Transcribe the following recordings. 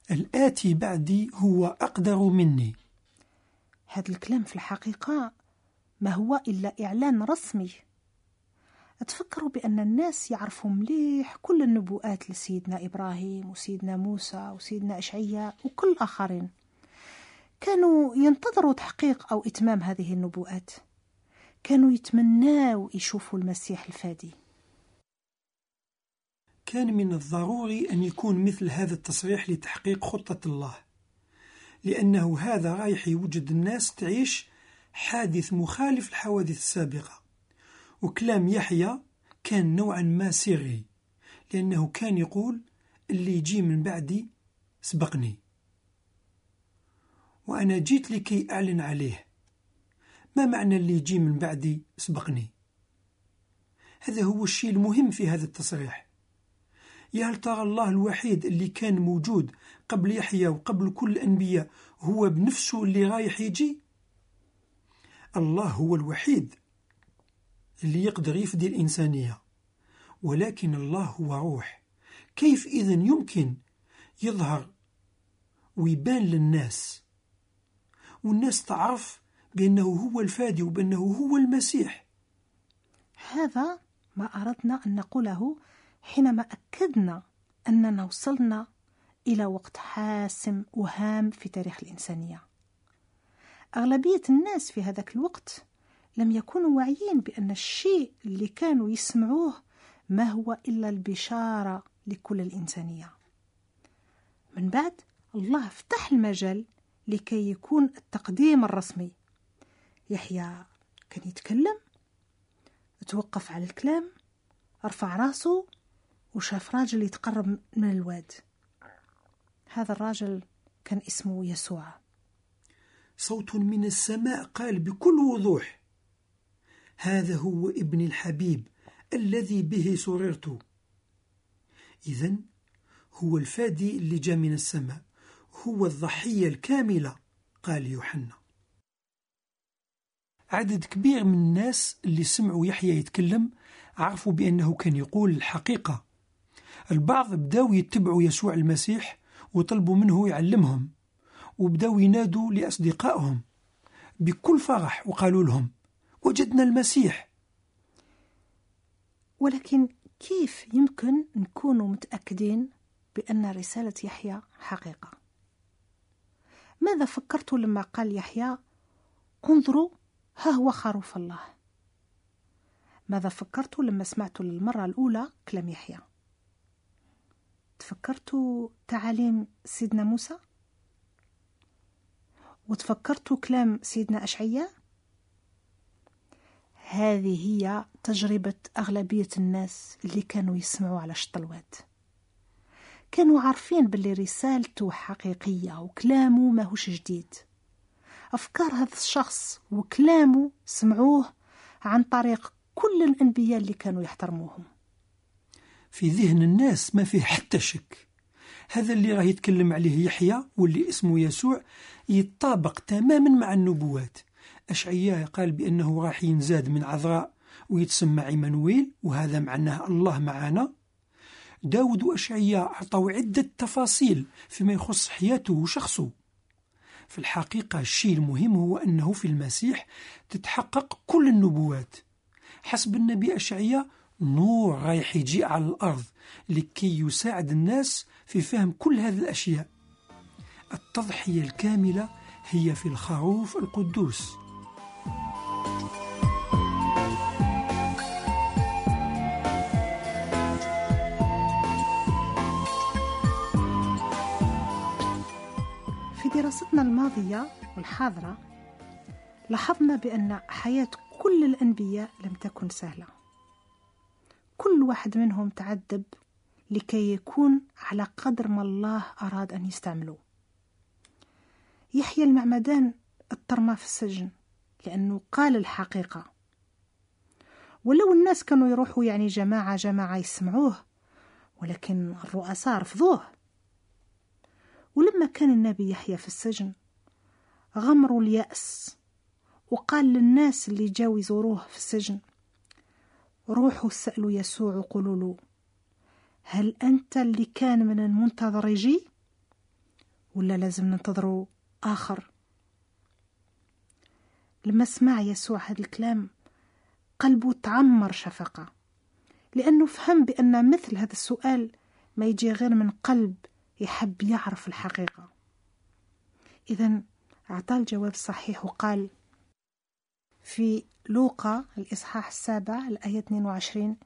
الآتي بعدي هو أقدر مني. هذا الكلام في الحقيقة ما هو إلا إعلان رسمي. أتفكر بأن الناس يعرفوا مليح كل النبوءات لسيدنا إبراهيم وسيدنا موسى وسيدنا أشعياء وكل الآخرين، كانوا ينتظروا تحقيق أو إتمام هذه النبوءات، كانوا يتمنوا يشوفوا المسيح الفادي. كان من الضروري أن يكون مثل هذا التصريح لتحقيق خطة الله، لأنه هذا رايح يوجد الناس تعيش حادث مخالف الحوادث السابقة. وكلام يحيى كان نوعا ما سري، لأنه كان يقول اللي يجي من بعدي سبقني، وأنا جيت لكي أعلن عليه. ما معنى اللي يجي من بعدي سبقني؟ هذا هو الشيء المهم في هذا التصريح. يا هل ترى الله الوحيد اللي كان موجود قبل يحيى وقبل كل الأنبياء هو بنفسه اللي رايح يجي؟ الله هو الوحيد اللي يقدر يفدي الإنسانية، ولكن الله هو روح. كيف إذن يمكن يظهر ويبان للناس والناس تعرف بأنه هو الفادي وبأنه هو المسيح؟ هذا ما أردنا أن نقوله حينما أكدنا أننا وصلنا إلى وقت حاسم وهام في تاريخ الإنسانية. أغلبية الناس في هذاك الوقت لم يكونوا واعيين بأن الشيء اللي كانوا يسمعوه ما هو إلا البشارة لكل الإنسانية. من بعد الله فتح المجال لكي يكون التقديم الرسمي. يحيى كان يتكلم، توقف على الكلام، رفع راسه وشاف راجل يتقرب من الواد. هذا الراجل كان اسمه يسوع. صوت من السماء قال بكل وضوح: هذا هو ابن الحبيب الذي به سررت. إذن هو الفادي اللي جاء من السماء، هو الضحية الكاملة، قال يوحنا. عدد كبير من الناس اللي سمعوا يحيى يتكلم عرفوا بأنه كان يقول الحقيقة. البعض بداوا يتبعوا يسوع المسيح وطلبوا منه يعلمهم، وبداوا ينادوا لأصدقائهم بكل فرح وقالوا لهم: وجدنا المسيح. ولكن كيف يمكن نكون متأكدين بأن رسالة يحيى حقيقة؟ ماذا فكرت لما قال يحيى: انظروا ها هو خروف الله؟ ماذا فكرت لما سمعت للمرة الأولى كلام يحيى؟ تفكرت تعاليم سيدنا موسى؟ وتفكرت كلام سيدنا أشعياء؟ هذه هي تجربة أغلبية الناس اللي كانوا يسمعوا على الشطلوات. كانوا عارفين باللي رسالته حقيقية وكلامه ماهوش جديد. أفكار هذا الشخص وكلامه سمعوه عن طريق كل الأنبياء اللي كانوا يحترموهم. في ذهن الناس ما فيه حتى شك، هذا اللي راه يتكلم عليه يحيى واللي اسمه يسوع يتطابق تماما مع النبوات. أشعياء قال بأنه راح ينزاد من عذراء ويتسمى عمانويل، وهذا معناه الله معنا. داود وأشعياء أعطوا عدة تفاصيل فيما يخص حياته وشخصه. في الحقيقة الشيء المهم هو أنه في المسيح تتحقق كل النبوات. حسب النبي أشعياء نور رايح يجي على الأرض لكي يساعد الناس في فهم كل هذه الأشياء. التضحية الكاملة هي في الخروف القدوس. في دراستنا الماضية والحاضرة لاحظنا بأن حياة كل الأنبياء لم تكن سهلة. كل واحد منهم تعذب لكي يكون على قدر ما الله أراد أن يستعمله. يحيى المعمدان اضطرمى في السجن لأنه قال الحقيقة، ولو الناس كانوا يروحوا يعني جماعة يسمعوه، ولكن الرؤساء رفضوه. ولما كان النبي يحيى في السجن غمروا اليأس، وقال للناس اللي جاوا يزوروه في السجن: روحوا سألوا يسوع وقولوا له: هل أنت اللي كان من المنتظر يجي؟ ولا لازم ننتظروا آخر؟ لما سمع يسوع هذا الكلام قلبه تعمر شفقة، لأنه فهم بأن مثل هذا السؤال ما يجي غير من قلب يحب يعرف الحقيقة. إذن أعطى الجواب الصحيح وقال في لوقا الإصحاح 7 الآية 22: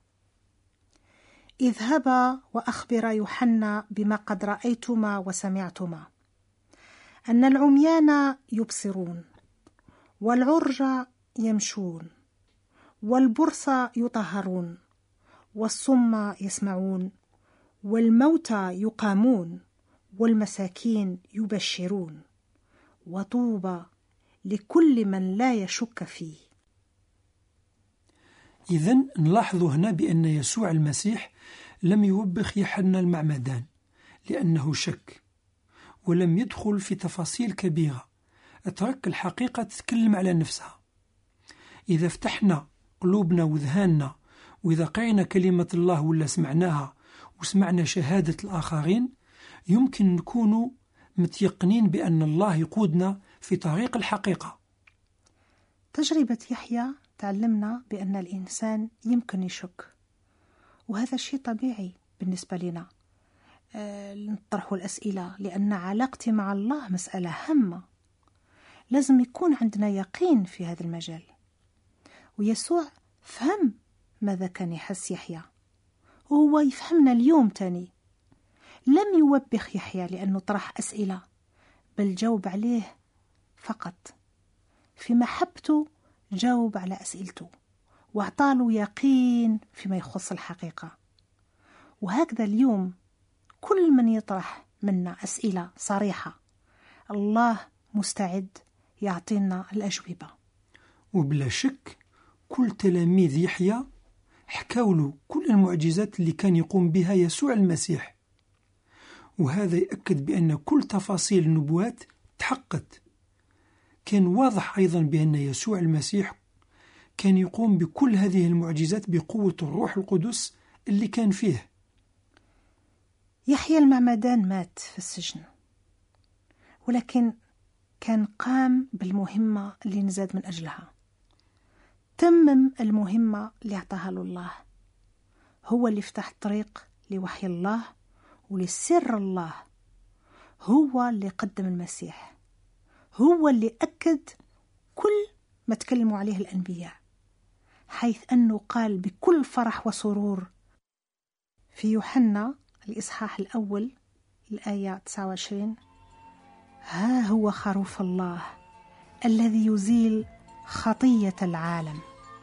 اذهبا وأخبرا يوحنا بما قد رأيتما وسمعتما، أن العميان يبصرون، والعرج يمشون، والبرص يطهرون، والصم يسمعون، والموتى يقامون، والمساكين يبشرون، وطوبى لكل من لا يشك فيه. إذن نلاحظ هنا بأن يسوع المسيح لم يوبخ يوحنا المعمدان لأنه شك، ولم يدخل في تفاصيل كبيرة، ترك الحقيقة تتكلم على نفسها. إذا فتحنا قلوبنا وذهاننا، وإذا قرينا كلمة الله ولا سمعناها وسمعنا شهادة الآخرين، يمكن نكون متيقنين بأن الله يقودنا في طريق الحقيقة. تجربة يحيى تعلمنا بأن الإنسان يمكن يشك، وهذا شيء طبيعي بالنسبة لنا. نطرح الأسئلة لأن علاقتي مع الله مسألة هامة، لازم يكون عندنا يقين في هذا المجال. ويسوع فهم ماذا كان يحس يحيى، وهو يفهمنا اليوم تاني. لم يوبخ يحيى لأنه طرح أسئلة، بل جاوب عليه فقط. في محبته جاوب على أسئلته واعطاله يقين فيما يخص الحقيقة. وهكذا اليوم كل من يطرح منا أسئلة صريحة، الله مستعد يعطينا الأجوبة. وبلا شك كل تلاميذ يحيى حكوا له كل المعجزات اللي كان يقوم بها يسوع المسيح، وهذا يأكد بأن كل تفاصيل النبوات تحققت. كان واضح أيضا بأن يسوع المسيح كان يقوم بكل هذه المعجزات بقوة الروح القدس اللي كان فيه. يحيى المعمدان مات في السجن، ولكن كان قام بالمهمة اللي نزاد من أجلها، تمم المهمة اللي اعطاها له الله. هو اللي فتح الطريق لوحي الله ولسر الله، هو اللي قدم المسيح، هو اللي أكد كل ما تكلموا عليه الأنبياء، حيث أنه قال بكل فرح وسرور في يوحنا الإصحاح الأول الآية 29: ها هو خروف الله الذي يزيل خطية العالم.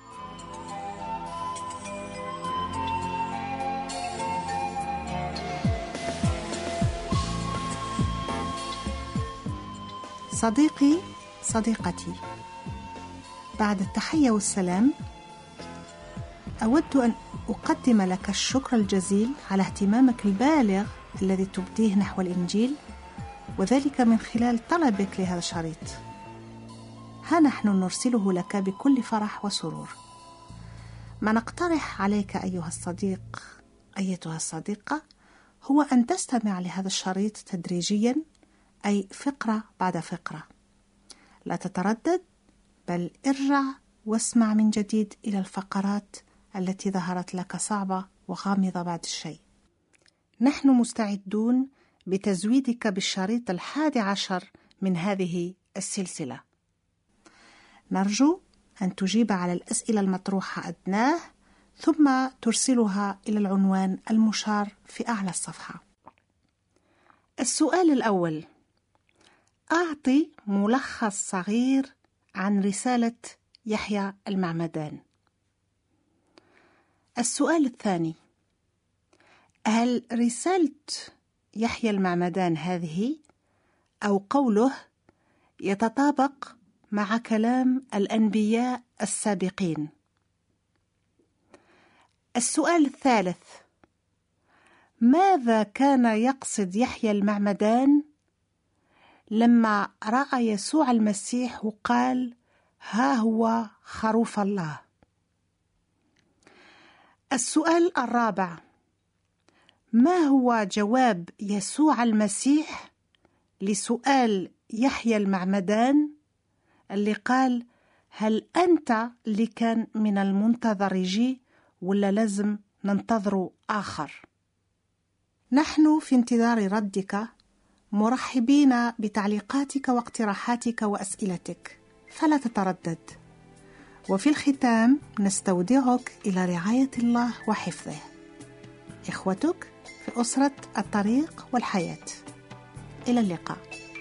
صديقي صديقتي، بعد التحية والسلام أود أن أقدم لك الشكر الجزيل على اهتمامك البالغ الذي تبديه نحو الإنجيل، وذلك من خلال طلبك لهذا الشريط. ها نحن نرسله لك بكل فرح وسرور. ما نقترح عليك أيها الصديق أيتها الصديقة هو أن تستمع لهذا الشريط تدريجيا، أي فقرة بعد فقرة. لا تتردد، بل ارجع واسمع من جديد إلى الفقرات التي ظهرت لك صعبة وغامضة بعد الشيء. نحن مستعدون بتزويدك بالشريط 11 من هذه السلسلة. نرجو أن تجيب على الأسئلة المطروحة أدناه، ثم ترسلها إلى العنوان المشار في أعلى الصفحة. السؤال الأول: أعطي ملخص صغير عن رسالة يحيى المعمدان. السؤال الثاني: هل رسالة يحيى المعمدان هذه أو قوله يتطابق مع كلام الأنبياء السابقين؟ السؤال الثالث: ماذا كان يقصد يحيى المعمدان لما رأى يسوع المسيح وقال ها هو خروف الله؟ السؤال الرابع: ما هو جواب يسوع المسيح لسؤال يحيى المعمدان اللي قال: هل أنت اللي كان من المنتظر يجي ولا لازم ننتظر آخر؟ نحن في انتظار ردك، مرحبين بتعليقاتك واقتراحاتك وأسئلتك، فلا تتردد. وفي الختام نستودعك إلى رعاية الله وحفظه. إخوتك في أسرة الطريق والحياة. إلى اللقاء.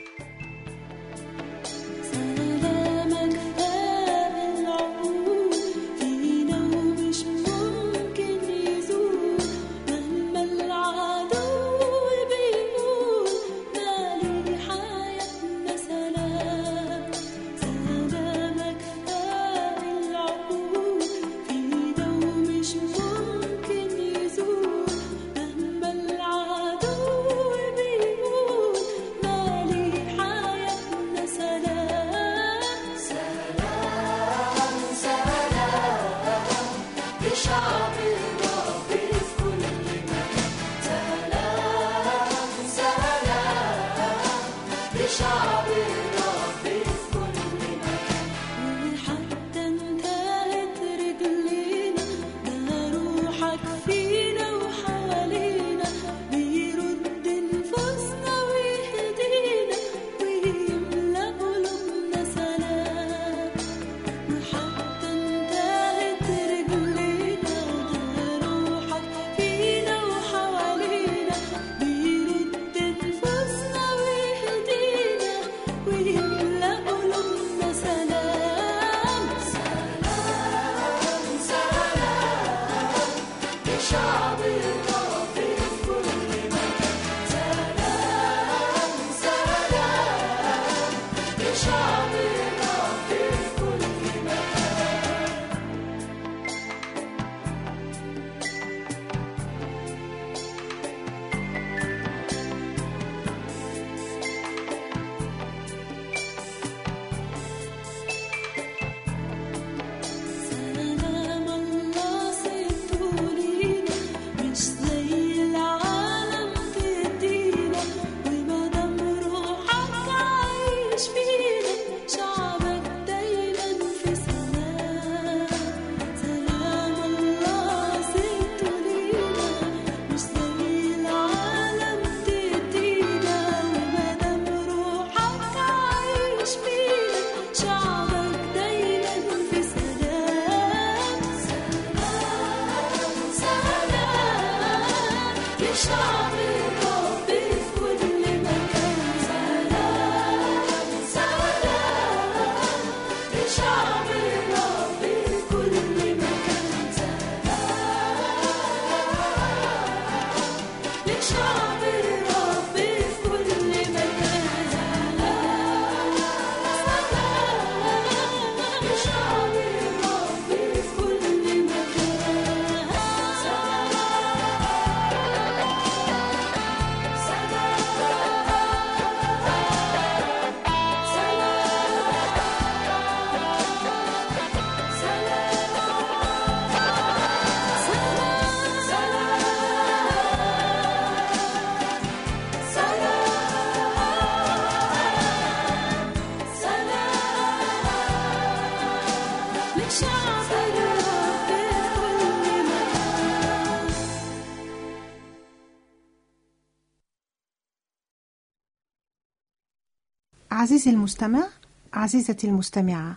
عزيزي المستمع، عزيزتي المستمعة،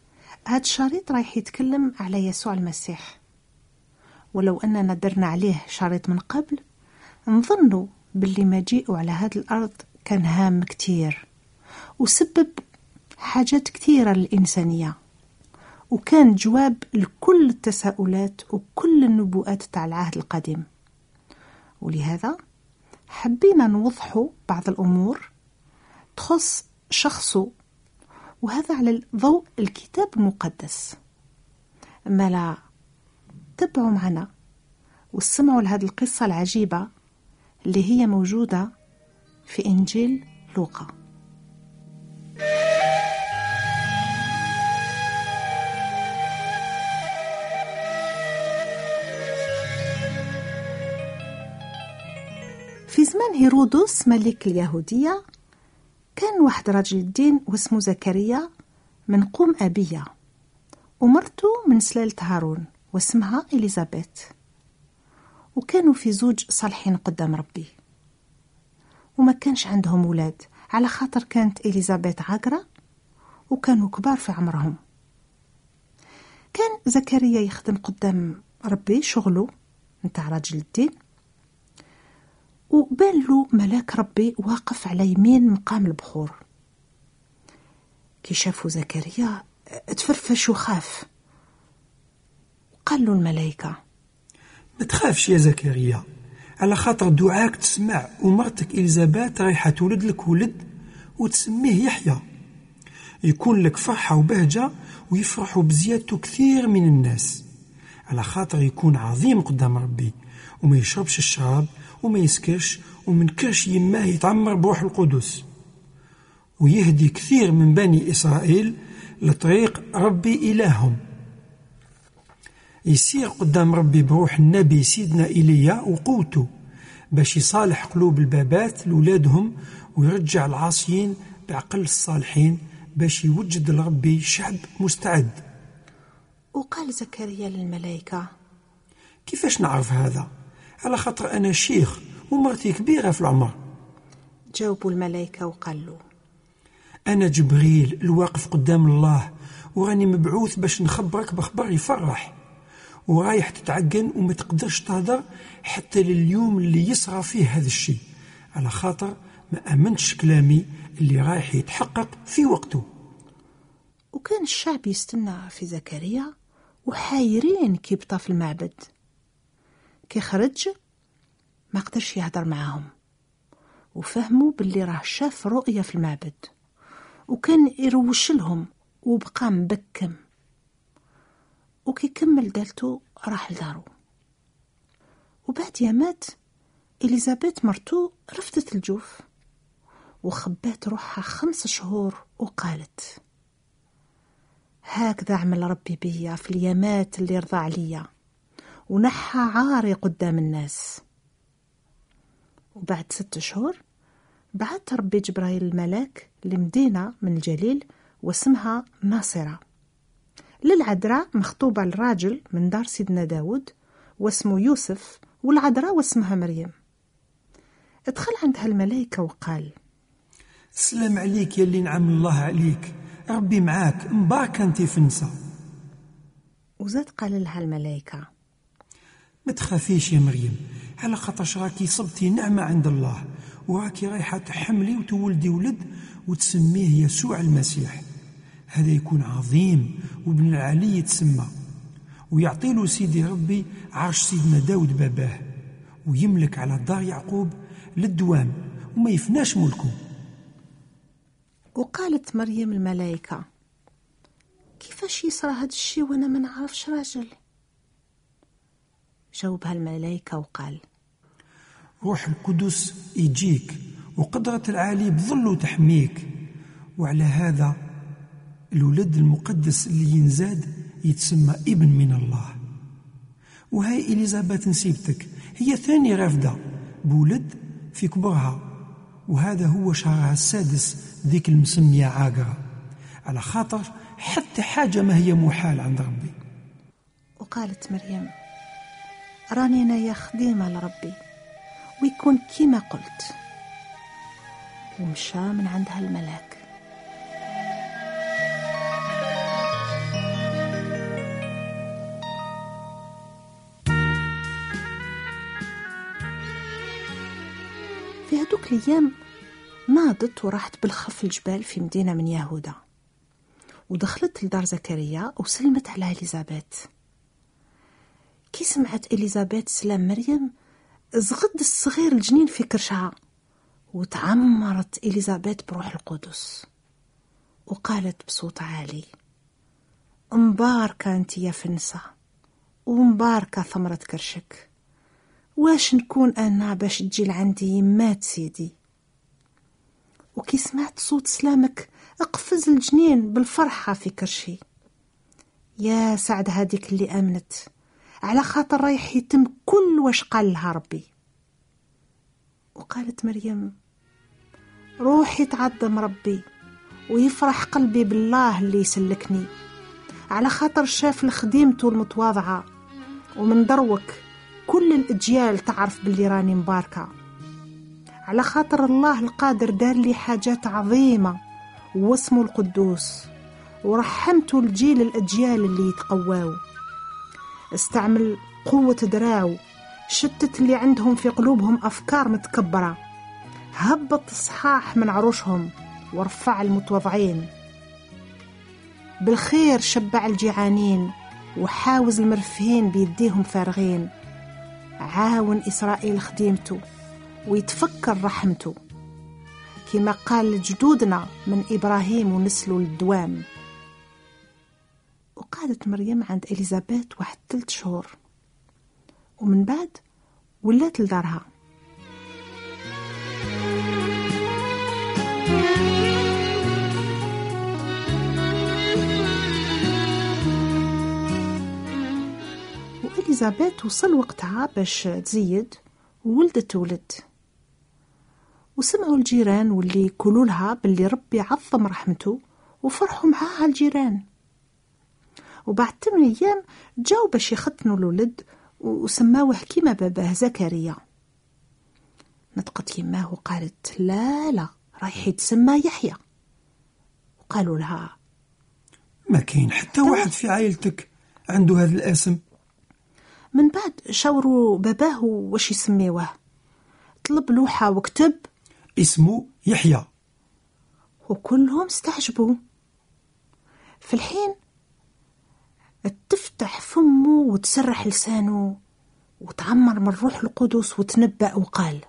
هذا الشريط رايح يتكلم على يسوع المسيح، ولو أننا درنا عليه شريط من قبل نظنوا باللي مجيئه على هذه الأرض كان هام كتير وسبب حاجات كثيرة للإنسانية، وكان جواب لكل التساؤلات وكل النبوءات تاع العهد القديم. ولهذا حبينا نوضحوا بعض الأمور تخص شخصه، وهذا على ضوء الكتاب المقدس. أما لا تبعوا معنا واستمعوا لهذه القصة العجيبة اللي هي موجودة في إنجيل لوقا. في زمان هيرودس ملك اليهودية كان واحد راجل الدين واسمه زكريا من قوم أبية، ومرته من سلالة هارون واسمها إليزابيث، وكانوا في زوج صالحين قدام ربي، وما كانش عندهم ولاد على خاطر كانت إليزابيث عاقرة وكانوا كبار في عمرهم. كان زكريا يخدم قدام ربي شغله نتاع راجل الدين، وبان له ملاك ربي واقف على يمين مقام البخور. كي شافوا زكريا تفرفش وخاف، وقال له الملائكة: ما تخافش يا زكريا، على خاطر دعاك تسمع، ومرتك إليزابيث رايحة تولد لك ولد وتسميه يحيى. يكون لك فرحة وبهجة، ويفرحوا بزيادته كثير من الناس، على خاطر يكون عظيم قدام ربي، وما يشربش الشراب وما يسكرش، ومن كرش يماه يتعمر بروح القدس، ويهدي كثير من بني إسرائيل لطريق ربي إلههم. يسير قدام ربي بروح النبي سيدنا إيليا وقوته، باش يصالح قلوب البابات لولادهم، ويرجع العاصيين بعقل الصالحين، باش يوجد لربي شعب مستعد. وقال زكريا للملائكة: كيفاش نعرف هذا؟ على خاطر أنا شيخ ومرتي كبيرة في العمر. جاوبوا الملائكة وقال له: أنا جبريل الواقف قدام الله، وراني مبعوث باش نخبرك بخبر يفرح، ورايح تتعجن وما تقدرش تهدر حتى لليوم اللي يصرى فيه هذا الشيء، على خاطر ما أمنتش كلامي اللي رايح يتحقق في وقته. وكان الشعب يستنى في زكريا وحايرين كي بطا في المعبد. كي خرج ما قدرش يهدر معاهم، وفهموا باللي راه شاف رؤية في المعبد، وكان يروش لهم وبقى مبكم. وكي كمل دالته راح لدارو. وبعد يامات إليزابيث مرتو رفضت الجوف وخبات روحها 5 شهور، وقالت: هكذا عمل ربي بيا في اليامات اللي رضى عليا، ونحى عاري قدام الناس. وبعد 6 شهور بعث ربي جبرائيل الملاك لمدينة من الجليل واسمها ناصرة، للعذراء مخطوبة الراجل من دار سيدنا داود واسمه يوسف، والعذراء واسمها مريم. ادخل عندها الملائكة وقال: السلام عليك يا اللي نعم الله عليك، ربي معاك، مباركة انت في النساء. وزاد قال لها الملائكة: ما تخافيش يا مريم، على خاطرش راكي صبتي نعمة عند الله، وراكي رايحة تحملي وتولدي ولد وتسميه يسوع المسيح. هذا يكون عظيم وابن العلي يتسمى، ويعطي له سيدي ربي عرش سيدنا داود باباه، ويملك على دار يعقوب للدوام وما يفناش ملكه. وقالت مريم الملائكة: كيفاش يصرى هذا الشيء وانا ما نعرفش راجل؟ جاوبها الملائكة وقال: روح القدس يجيك، وقدرة العالي بظل تحميك، وعلى هذا الولد المقدس اللي ينزاد يتسمى ابن من الله. وهي إليزابيث نسيبتك هي ثاني رافدة بولد في كبرها، وهذا هو شهرها السادس ذيك المسمية عاقرة، على خاطر حتى حاجة ما هي محال عند ربي. وقالت مريم: راني أنا يا خديمة لربي، ويكون كيما قلت. ومشى من عندها الملاك. في هدوك الأيام ناضت وراحت بالخف الجبال في مدينة من يهوذا، ودخلت لدار زكريا وسلمت على إليزابيث. كي سمعت إليزابيث سلام مريم زغد الصغير الجنين في كرشها، وتعمرت إليزابيث بروح القدس، وقالت بصوت عالي: مباركة أنت يا فنسة، ومباركة ثمرة كرشك. واش نكون أنا باش تجي لعندي يمات سيدي؟ وكي سمعت صوت سلامك اقفز الجنين بالفرحة في كرشي. يا سعد هاديك اللي آمنت، على خاطر رايح يتم كل واش قال لها ربي. وقالت مريم: روحي تعظم ربي ويفرح قلبي بالله اللي يسلكني، على خاطر شاف لخديمته المتواضعة، ومن دروك كل الأجيال تعرف باللي راني مباركة، على خاطر الله القادر دار لي حاجات عظيمة واسمه القدوس، ورحمته الجيل الأجيال اللي يتقواو، استعمل قوة دراعو، شتت اللي عندهم في قلوبهم أفكار متكبرة، هبط الصحاح من عروشهم ورفع المتوضعين، بالخير شبع الجيعانين وحاوز المرفهين بيديهم فارغين، عاون إسرائيل خديمته ويتفكر رحمته، كما قال لجدودنا من إبراهيم ونسله للدوام. وقعدت مريم عند إليزابيث 3 شهور، ومن بعد ولات لدارها. وإليزابيث وصل وقتها باش تزيد وولدت ولد، وسمعوا الجيران واللي يقولوا لها باللي ربي عظم رحمته وفرحوا معاها الجيران. وبعد 8 أيام جاوا باش يختنوا الولد وسماوه كيما باباه زكريا. نطقت يماه وقالت لا رايح يتسمى يحيى. وقالوا لها ما كاين حتى واحد في عائلتك عنده هذا الاسم. من بعد شاوروا باباه واش يسميوه، طلب لوحة وكتب اسمه يحيى، وكلهم استعجبوا. في الحين تفتح فمه وتسرح لسانه وتعمر من روح القدس وتنبأ وقال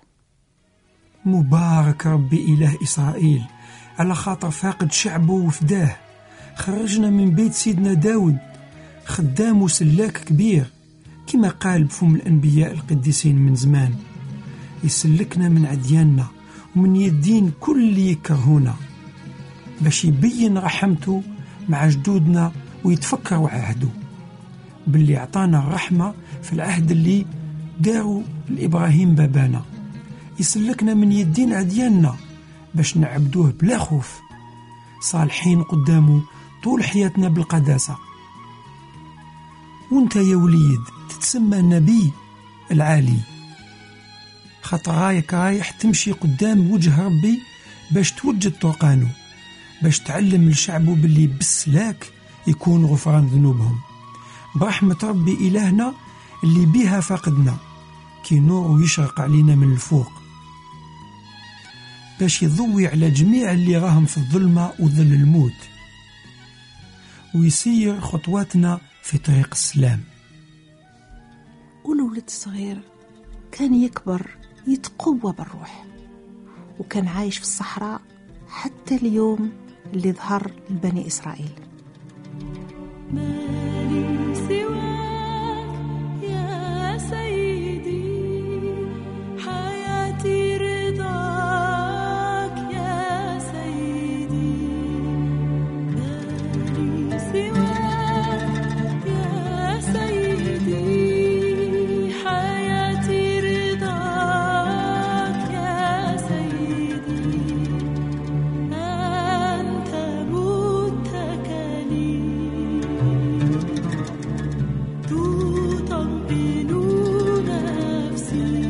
مبارك ربي إله إسرائيل على خاطر فاقد شعبه وفداه، خرجنا من بيت سيدنا داود خدام وسلاك كبير، كما قال بفم الأنبياء القديسين من زمان، يسلكنا من عدياننا ومن يدين كل اللي يكرهونا، باش يبين رحمته مع جدودنا ويتفكروا عهده باللي عطانا الرحمة في العهد اللي داروا لإبراهيم بابانا، يسلكنا من يدين عدياننا باش نعبدوه بلا خوف، صالحين قدامه طول حياتنا بالقداسة. وانت يا وليد تتسمى النبي العالي، خاطر رايح تمشي قدام وجه ربي باش توجد طرقانه، باش تعلم لشعبه باللي بالسلاك يكون غفران ذنوبهم برحمة ربي إلهنا اللي بيها فاقدنا، كي نور يشرق علينا من الفوق، باش يضوي على جميع اللي راهم في الظلمة وظل الموت، ويسير خطواتنا في طريق السلام. والولد الصغير كان يكبر يتقوى بالروح، وكان عايش في الصحراء حتى اليوم اللي ظهر لبني إسرائيل. ما لي سواك يا سيدي، حياتي رضاك يا سيدي، ما لي سواك يا سيدي، حياتي رضاك يا سيدي، أنت متكلي تطمئن نفسي،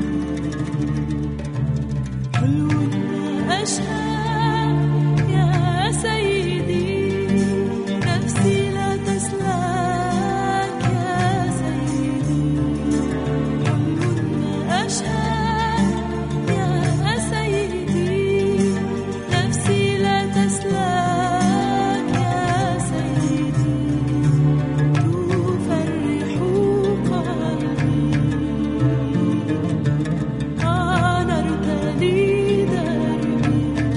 حلو ما أشهد يا سيدي، نفسي لا تسلك يا سيدي، حلو ما أشهد يا سيدي، نفسي لا تسلك يا سيدي، تفرح قلبي، أنرت لي دربي،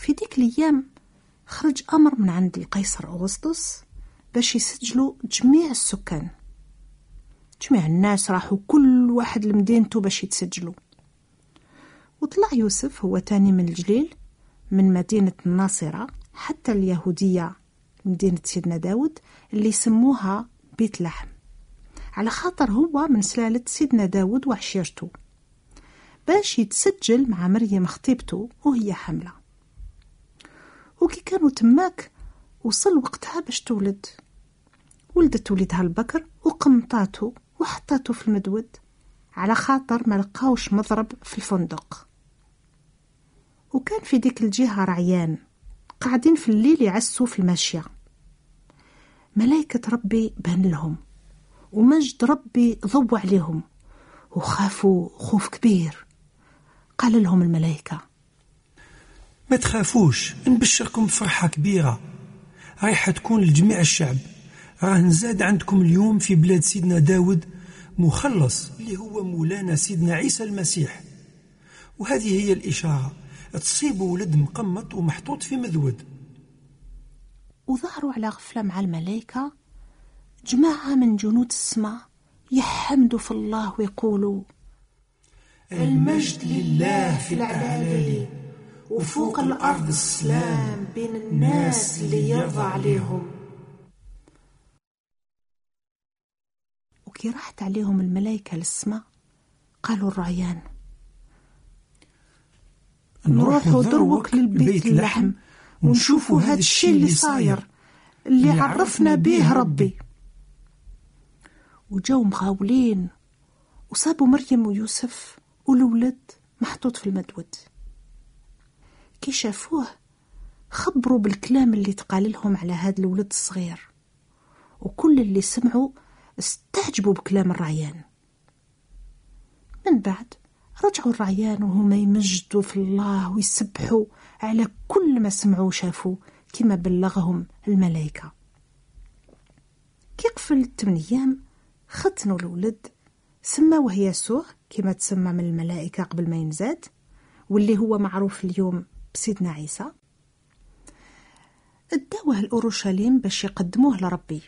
في ديك الأيام خرج أمر من عند القيصر أغسطس باش يسجلوا جميع السكان. جميع الناس راحوا كل واحد لمدينته باش يتسجلوا. وطلع يوسف هو تاني من الجليل من مدينة الناصرة حتى اليهودية مدينة سيدنا داود اللي سموها بيت لحم، على خاطر هو من سلالة سيدنا داود وعشيرته، باش يتسجل مع مريم خطيبته وهي حملة. وكي كانوا تماك وصل وقتها باش تولد، ولدت ولدها البكر وقمطاته وحطاته في المدود على خاطر ما لقاوش مضرب في الفندق. وكان في ديك الجهة رعيان قاعدين في الليل يعسوا في الماشية. ملائكة ربي بان لهم ومجد ربي ضوى عليهم وخافوا خوف كبير. قال لهم الملائكة: ما تخافوش، نبشركم بفرحة كبيرة رايحة تكون لجميع الشعب. راه نزاد عندكم اليوم في بلاد سيدنا داود مخلص اللي هو مولانا سيدنا عيسى المسيح. وهذه هي الإشارة، تصيبوا ولد مقمط ومحطوط في مذود. وظهروا على غفلة مع الملائكة جماعة من جنود السماء يحمدوا في الله ويقولوا: المجد لله في الأعالي وفوق الأرض السلام بين الناس اللي يرضى عليهم. وكي راحت عليهم الملائكة للسماء قالوا الرعيان: نروحوا دروك للبيت اللحم ونشوفوا هذا الشيء اللي صاير اللي عرفنا به ربي. وجاو مغاولين وصابوا مريم ويوسف والولد محطوط في المدود. كي شافوه خبروا بالكلام اللي تقال لهم على هذا الولد الصغير، وكل اللي سمعوا استعجبوا بكلام الرعيان. من بعد رجعوا الرعيان وهما يمجدوا في الله ويسبحوا على كل ما سمعوا وشافوا كما بلغهم الملائكة. كي قفل 8 أيام ختنوا الولد، سماوه يسوع كما تسمى من الملائكة قبل ما ينزاد، واللي هو معروف اليوم بسيدنا عيسى. اداوه لأورشليم باش يقدموه لربي.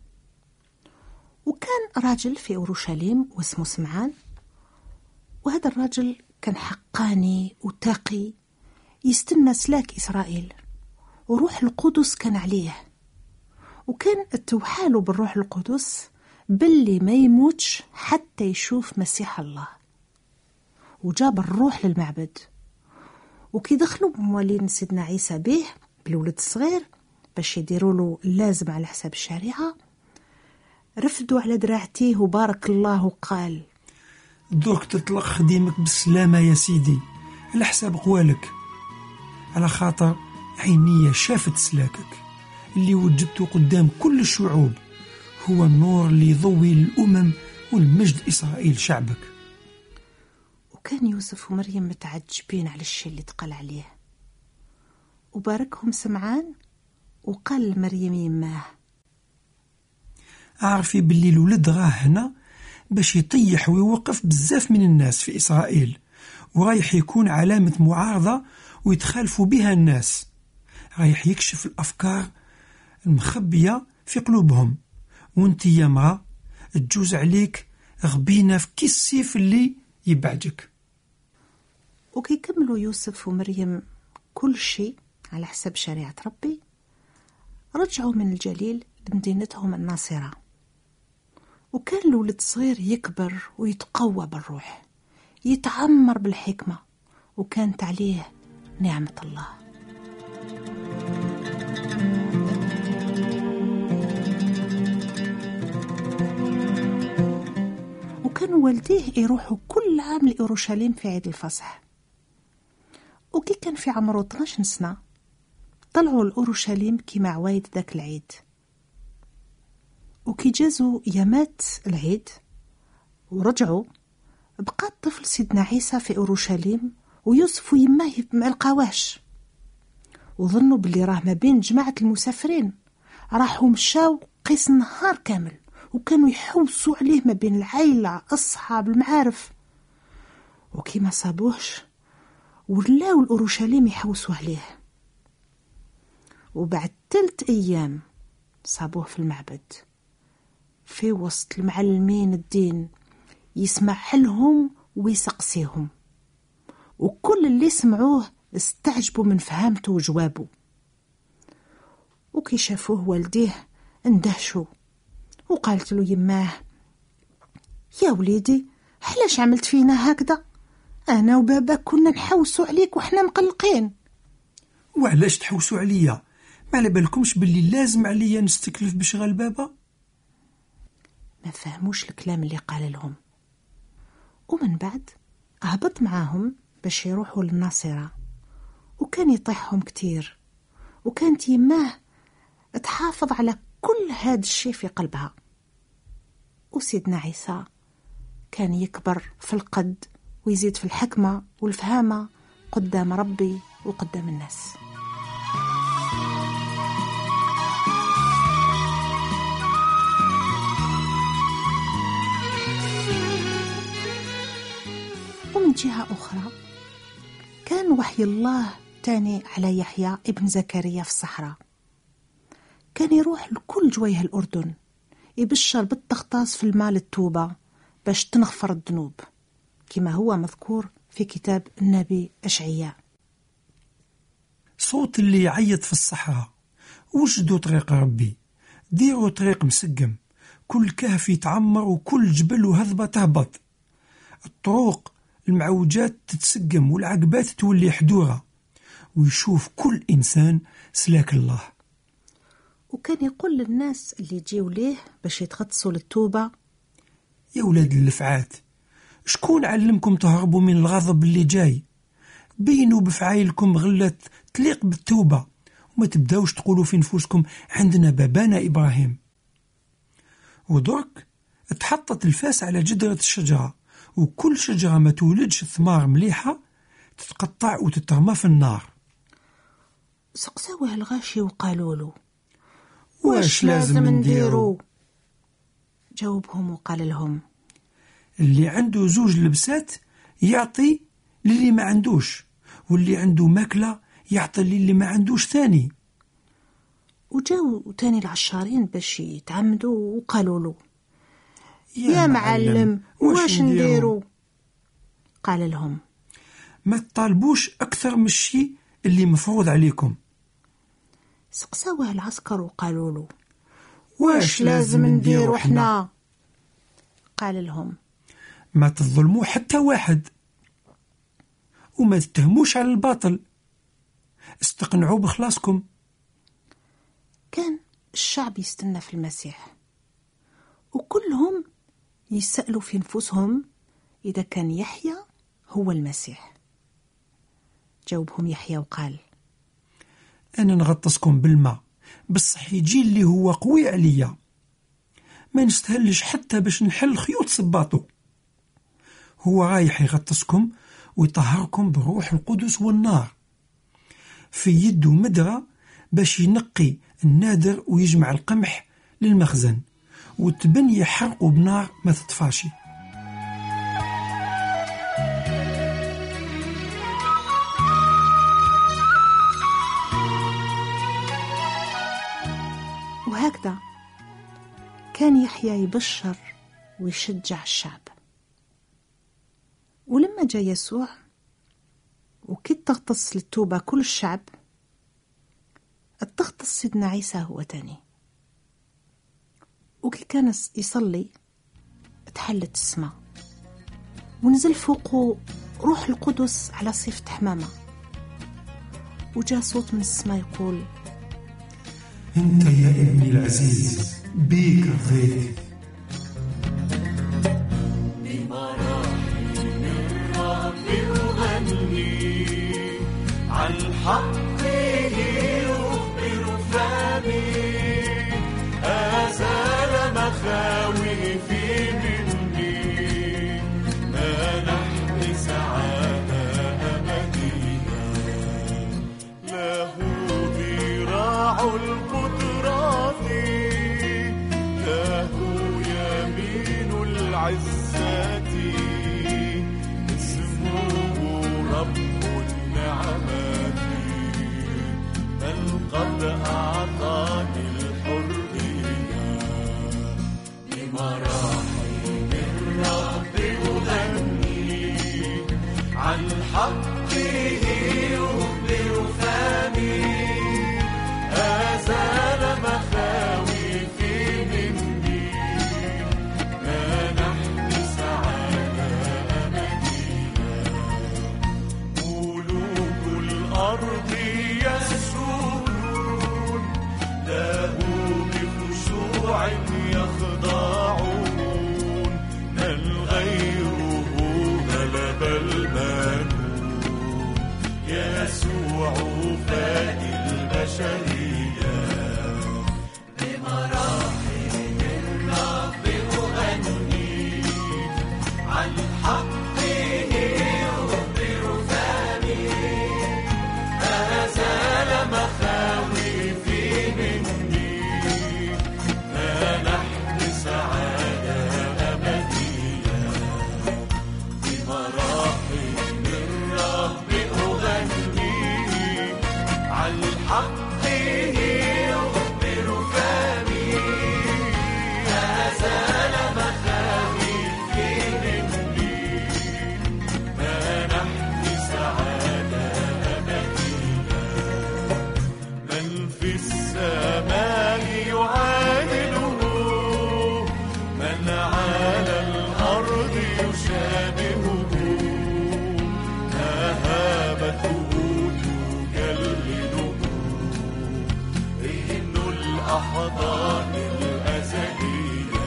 وكان راجل في أورشليم واسمه سمعان، وهذا الراجل كان حقاني وتقي يستنى سلاك إسرائيل، وروح القدس كان عليه، وكان اتوحاله بالروح القدس باللي ما يموتش حتى يشوف مسيح الله. وجاب الروح للمعبد، وكي دخلوا موالين سيدنا عيسى به بالولد الصغير باش يديروا له اللازم على حساب الشريعة، رفدوا على دراعتيه وبارك الله وقال: دوك تطلق خديمك بالسلامة يا سيدي على حساب قوالك، على خاطر عينية شافت سلاكك اللي وجدته قدام كل الشعوب، هو النور اللي يضوي للأمم والمجد إسرائيل شعبك. وكان يوسف ومريم متعجبين على الشيء اللي تقال عليه، وباركهم سمعان وقال لمريم يماه: أعرفي باللي الولد راه هنا باش يطيح ويوقف بزاف من الناس في إسرائيل، ورايح يكون علامة معارضة ويتخالفوا بها الناس، رايح يكشف الأفكار المخبية في قلوبهم، وانت يا مرأة تجوز عليك غبينة في كي السيف اللي يبعجك. وكي كملوا يوسف ومريم كل شيء على حسب شريعة ربي، رجعوا من الجليل لمدينتهم الناصرة. وكان الولد صغير يكبر ويتقوى بالروح، يتعمر بالحكمة، وكانت عليه نعمة الله. وكانوا والديه يروحوا كل عام لأورشليم في عيد الفصح. وكي كان في عمره 12 سنة طلعوا لأورشليم كما عوايد ذاك العيد. وكي جازوا يامات العيد ورجعوا، بقى الطفل سيدنا عيسى في أورشليم ويوسف ويماه ما لقاوهش، وظنوا باللي راه ما بين جماعة المسافرين. راحوا مشاو قيس النهار كامل وكانوا يحوسوا عليه ما بين العائلة أصحاب المعارف، وكي ما صابوهش ولاو الأورشليم يحوسوا عليه. وبعد 3 أيام صابوه في المعبد في وسط المعلمين الدين يسمع لهم ويسقسيهم، وكل اللي سمعوه استعجبوا من فهمته وجوابه. وكي شافوه والديه اندهشوا، وقالت له يماه: يا وليدي علاش عملت فينا هكذا؟ انا وبابا كنا نحوسوا عليك وحنا مقلقين. وعلاش تحوسوا عليا؟ ما على بالكمش باللي لازم عليا نستكلف بشغل بابا؟ ما فهموش الكلام اللي قال لهم. ومن بعد هبط معاهم باش يروحوا للناصرة، وكان يطيحهم كتير، وكانت يماه تحافظ على كل هذا الشيء في قلبها. وسيدنا عيسى كان يكبر في القد ويزيد في الحكمة والفهامة قدام ربي وقدام الناس. ومن جهة أخرى كان وحي الله تاني على يحيى ابن زكريا في الصحراء. كان يروح لكل جويه الأردن يبشر بالتغطاس في الماء للتوبة باش تنغفر الذنوب، كما هو مذكور في كتاب النبي أشعياء. صوت اللي يعيط في الصحراء: وجدوا طريق ربي، ديروا طريق مسقم، كل كهف يتعمر وكل جبل وهضبة تهبط، الطرق المعوجات تتسقم والعقبات تولي حدورة، ويشوف كل إنسان سلاك الله. وكان يقول للناس اللي يجيوا ليه باش يتغطسوا للتوبة: يا ولاد اللفعات، شكون علمكم تهربوا من الغضب اللي جاي؟ بينوا بفعايلكم غلة تليق بالتوبة، وما تبداوش تقولوا في نفوسكم عندنا بابانا إبراهيم. ودرك اتحطت الفاس على جدرة الشجرة، وكل شجرة ما تولدش ثمار مليحة تتقطع وتترمى في النار. سقسوه الغاشي وقالوا له: واش لازم نديرو؟ جاوبهم وقال لهم: اللي عنده 2 لبسات يعطي للي ما عندوش، واللي عنده ماكلة يعطي للي ما عندوش ثاني. وجاو تاني العشارين باش يتعمدوا وقالوا له: يا معلم واش نديرو؟ قال لهم: ما تطالبوش أكثر من الشيء اللي مفروض عليكم. سقساوه العسكر وقالوا له: واش لازم نديرو حنا؟ قال لهم: ما تظلموا حتى واحد، وما تتهموش على الباطل، استقنعوا بخلاصكم. كان الشعب يستنى في المسيح، وكلهم يسألوا في نفوسهم إذا كان يحيى هو المسيح. جاوبهم يحيى وقال: أنا نغطسكم بالماء، بصح يجي اللي هو قوي عليا، ما نستهلش حتى باش نحل خيوط صباطو. هو رايح يغطسكم ويطهركم بالروح القدس والنار، في يده مدرة باش ينقي النادر ويجمع القمح للمخزن، وتبن يحرقوا بنار ما تطفاشي. وهكذا كان يحيى يبشر ويشجع الشعب. ولما جاء يسوع وكي تغطس للتوبة كل الشعب، تغطس سيدنا عيسى هو تاني. وكي كان يصلي تحلت السماء ونزل فوقه روح القدس على صفة حمامة، وجاء صوت من السماء يقول: أنت يا ابني العزيز بيك رضيت. بمراحل الرب أغني عن حقه يخبر فمي، أزال مخاوفي مني، منحني سعادة أبدية، له ذراع القدرات، له يمين العزة، اسمه رب النعمات، بل قد حقه يخبر فمي أزال مخاوفي مني منحني سعادة أبدية من في السماء يعادله من على الأرض يشابهه مهابته تجلده إن الأحضان الأزلية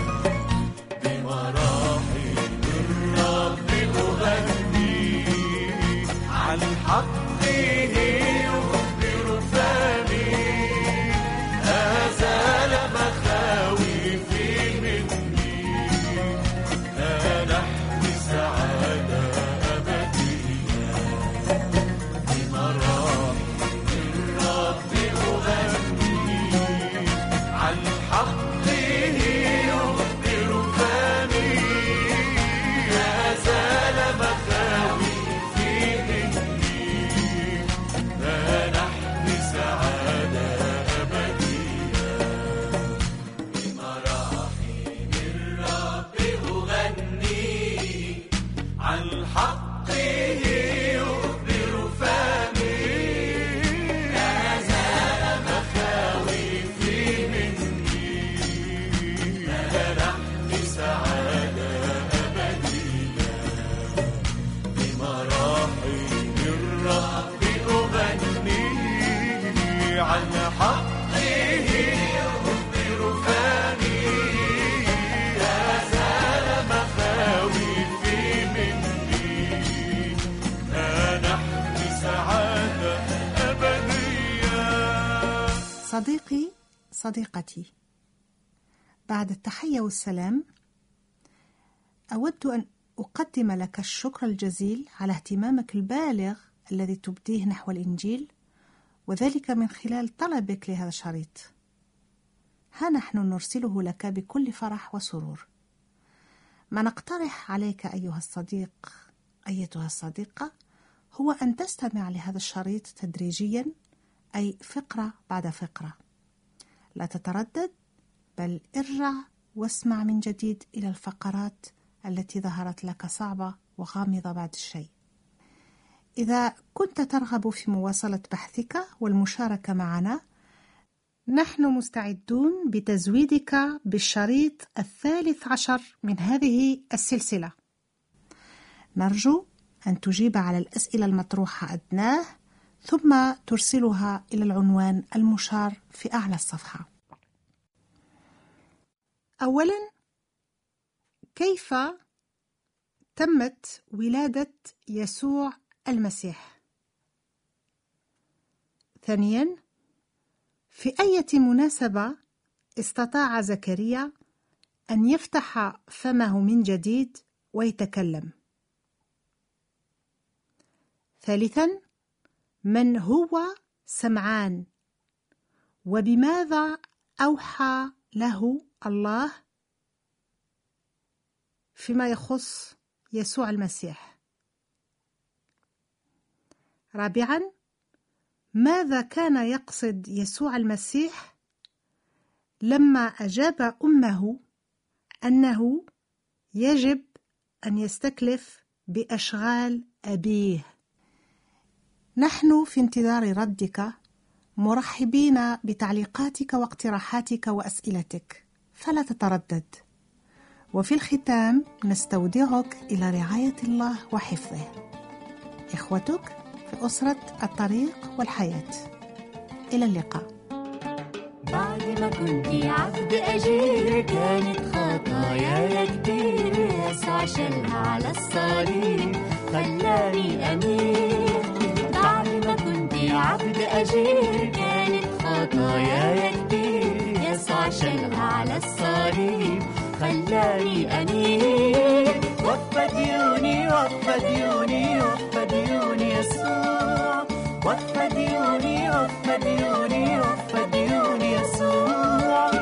بمراحل الرب أغني عن حقه يخبر فمي أزال مخاوفي مني منحني سعادة أبدية بمراحل الرب أغني عن حقه يخبر فمي أزال مخاوفي مني منحني سعادة أبدية بمراحل الرب أغني عن حقه يخبر فمي أزال مخاوفي مني منحني سعادة أبدية بمراحل الرب أغني عن حقه يخبر فمي أزال مخاوفي مني منحني سعادة أبدية. صديقي، صديقتي، بعد التحية والسلام أود أن أقدم لك الشكر الجزيل على اهتمامك البالغ الذي تبديه نحو الإنجيل، وذلك من خلال طلبك لهذا الشريط. ها نحن نرسله لك بكل فرح وسرور. ما نقترح عليك أيها الصديق أيتها الصديقة هو أن تستمع لهذا الشريط تدريجيا، أي فقرة بعد فقرة. لا تتردد، بل ارجع واسمع من جديد إلى الفقرات التي ظهرت لك صعبة وغامضة بعد الشيء. إذا كنت ترغب في مواصلة بحثك والمشاركة معنا، نحن مستعدون بتزويدك بالشريط 13 من هذه السلسلة. نرجو أن تجيب على الأسئلة المطروحة أدناه، ثم ترسلها إلى العنوان المشار في أعلى الصفحة. أولا، كيف تمت ولادة يسوع المسيح؟ ثانيا، في أي مناسبة استطاع زكريا أن يفتح فمه من جديد ويتكلم؟ ثالثا، من هو سمعان، وبماذا أوحى له الله فيما يخص يسوع المسيح؟ رابعا، ماذا كان يقصد يسوع المسيح لما أجاب أمه أنه يجب أن يستكلف بأشغال أبيه؟ نحن في انتظار ردك، مرحبين بتعليقاتك واقتراحاتك وأسئلتك، فلا تتردد. وفي الختام نستودعك إلى رعاية الله وحفظه. إخوتك في أسرة الطريق والحياة. إلى اللقاء. بعد ما كنتي عبد أجير كانت خطاياي كتير، يسوع شالها على الصليب خلاني أمير. بعد ما كنتي عبد أجير كانت خطاياي كتير، يسوع شالها على الصليب خلاني أمير. وفى ديوني وفى ديوني وفى ديوني يسوع، وفى ديوني وفى ديوني وفى ديوني يسوع.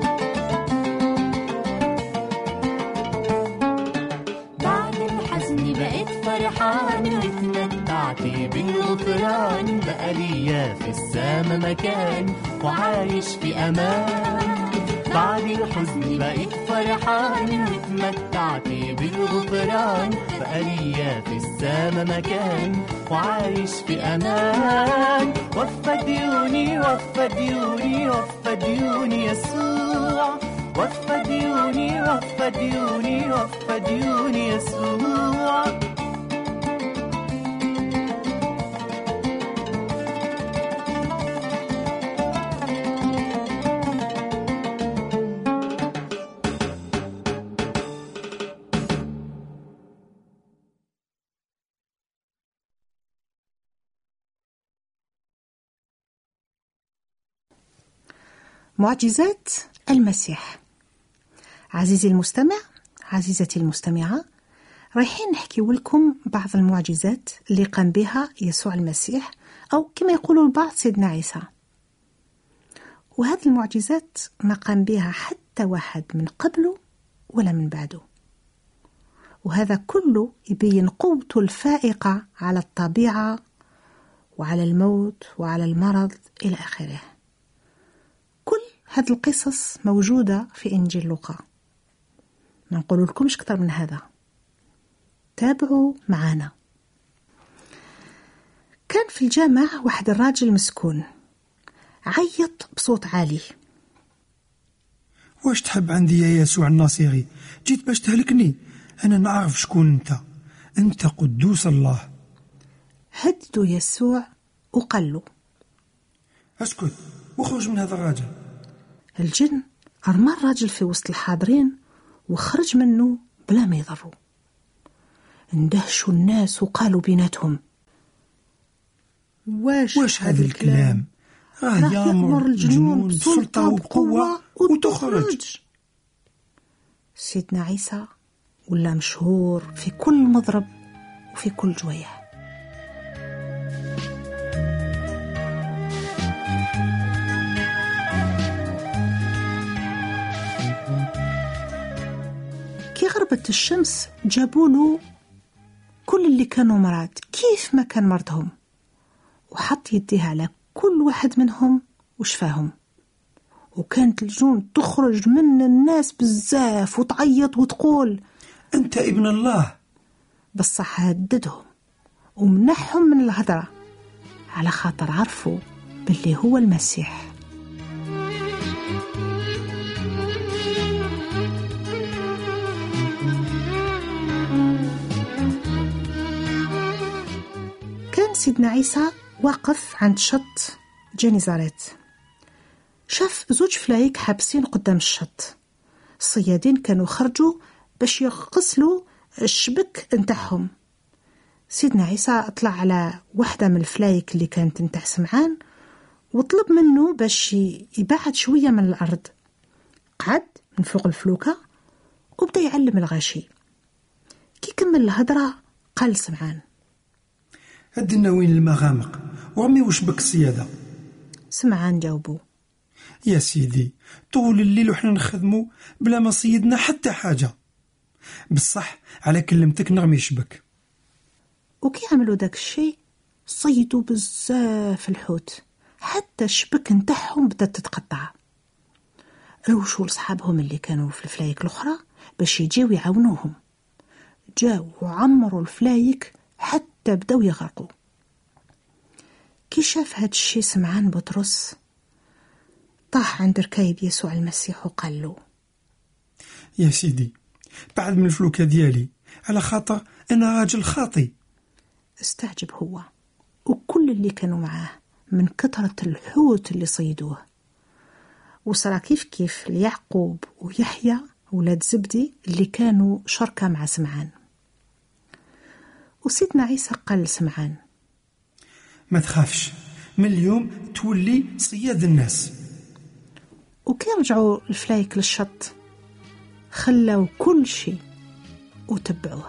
بعد الحزن بقيت فرحان واتمتعت بالغفران، بقى ليا في السما مكان وعايش في أمان. بعد الحزن بقيت فرحان واتمتعت بالغفران، بقى ليا في السما مكان وعايش في أمان. وفى ديوني وفى ديوني وفى ديوني يسوع، وفى ديوني وفى ديوني وفى ديوني يسوع. معجزات المسيح. عزيزي المستمع، عزيزتي المستمعة، رايحين نحكي لكم بعض المعجزات اللي قام بها يسوع المسيح، أو كما يقولوا البعض سيدنا عيسى. وهذه المعجزات ما قام بها حتى واحد من قبله ولا من بعده، وهذا كله يبين قوته الفائقة على الطبيعة وعلى الموت وعلى المرض إلى آخره. كل هذه القصص موجودة في إنجيل لوقا، ما نقول لكمش أكثر من هذا، تابعوا معنا. كان في الجامع واحد الراجل مسكون عيط بصوت عالي: واش تحب عندي يا يسوع الناصري؟ جيت باش تهلكني؟ أنا نعرف شكون أنت قدوس الله. هددوا يسوع وقال له: اسكت وخرج من هذا الراجل. الجن أرمى الراجل في وسط الحاضرين وخرج منه بلا ما يضروا. اندهشوا الناس وقالوا بيناتهم: واش هذا الكلام؟ راه يامر الجنون بسلطة وبقوة وتخرج. سيدنا عيسى ولا مشهور في كل مضرب وفي كل جويه. كي غربت الشمس جابوا له كل اللي كانوا مرض كيف ما كان مرضهم، وحط يديه على كل واحد منهم وشفاهم. وكانت الجنون تخرج من الناس بزاف وتعيط وتقول: أنت ابن الله. بصح هددهم ومنحهم من الهدرة على خاطر عرفوا باللي هو المسيح. كان سيدنا عيسى واقف عند شط جنيزاريت، شاف زوج فلايك حابسين قدام الشط. الصيادين كانوا خرجوا باش يغسلوا الشبك نتاعهم. سيدنا عيسى طلع على واحدة من الفلايك اللي كانت نتاع سمعان وطلب منه باش يبعد شوية من الأرض. قعد من فوق الفلوكة وبدأ يعلم الغاشي. كي كمل الهدرة قال سمعان: هدنا وين المغامق ورمي وشبك السيادة. سمعان جاوبه: يا سيدي طول الليل وحنا نخدمو بلا ما صيدنا حتى حاجة، بصح على كلمتك نرمي شبك. وكي عملوا داك الشيء صيدوا بزاف الحوت حتى الشبك نتاعهم بدأت تتقطع. روشوا لصحابهم اللي كانوا في الفلايك الأخرى باش يجيو يعاونوهم. جاو وعمروا الفلايك حتى بداو يغرقوا. كي شاف هاد الشيء سمعان بطرس طاح عند ركايب يسوع المسيح وقال له: يا سيدي بعد من الفلوكة ديالي على خاطر أنا راجل خاطي. استعجب هو وكل اللي كانوا معاه من كثرة الحوت اللي صيدوه. وصرا كيف ليعقوب ويحيى ولاد زبدي اللي كانوا شركة مع سمعان. وسيدنا عيسى قال لسمعان: ما تخافش، من اليوم تولي صياد الناس. وكي رجعوا الفلايك للشط خلوا كل شيء وتبعوه.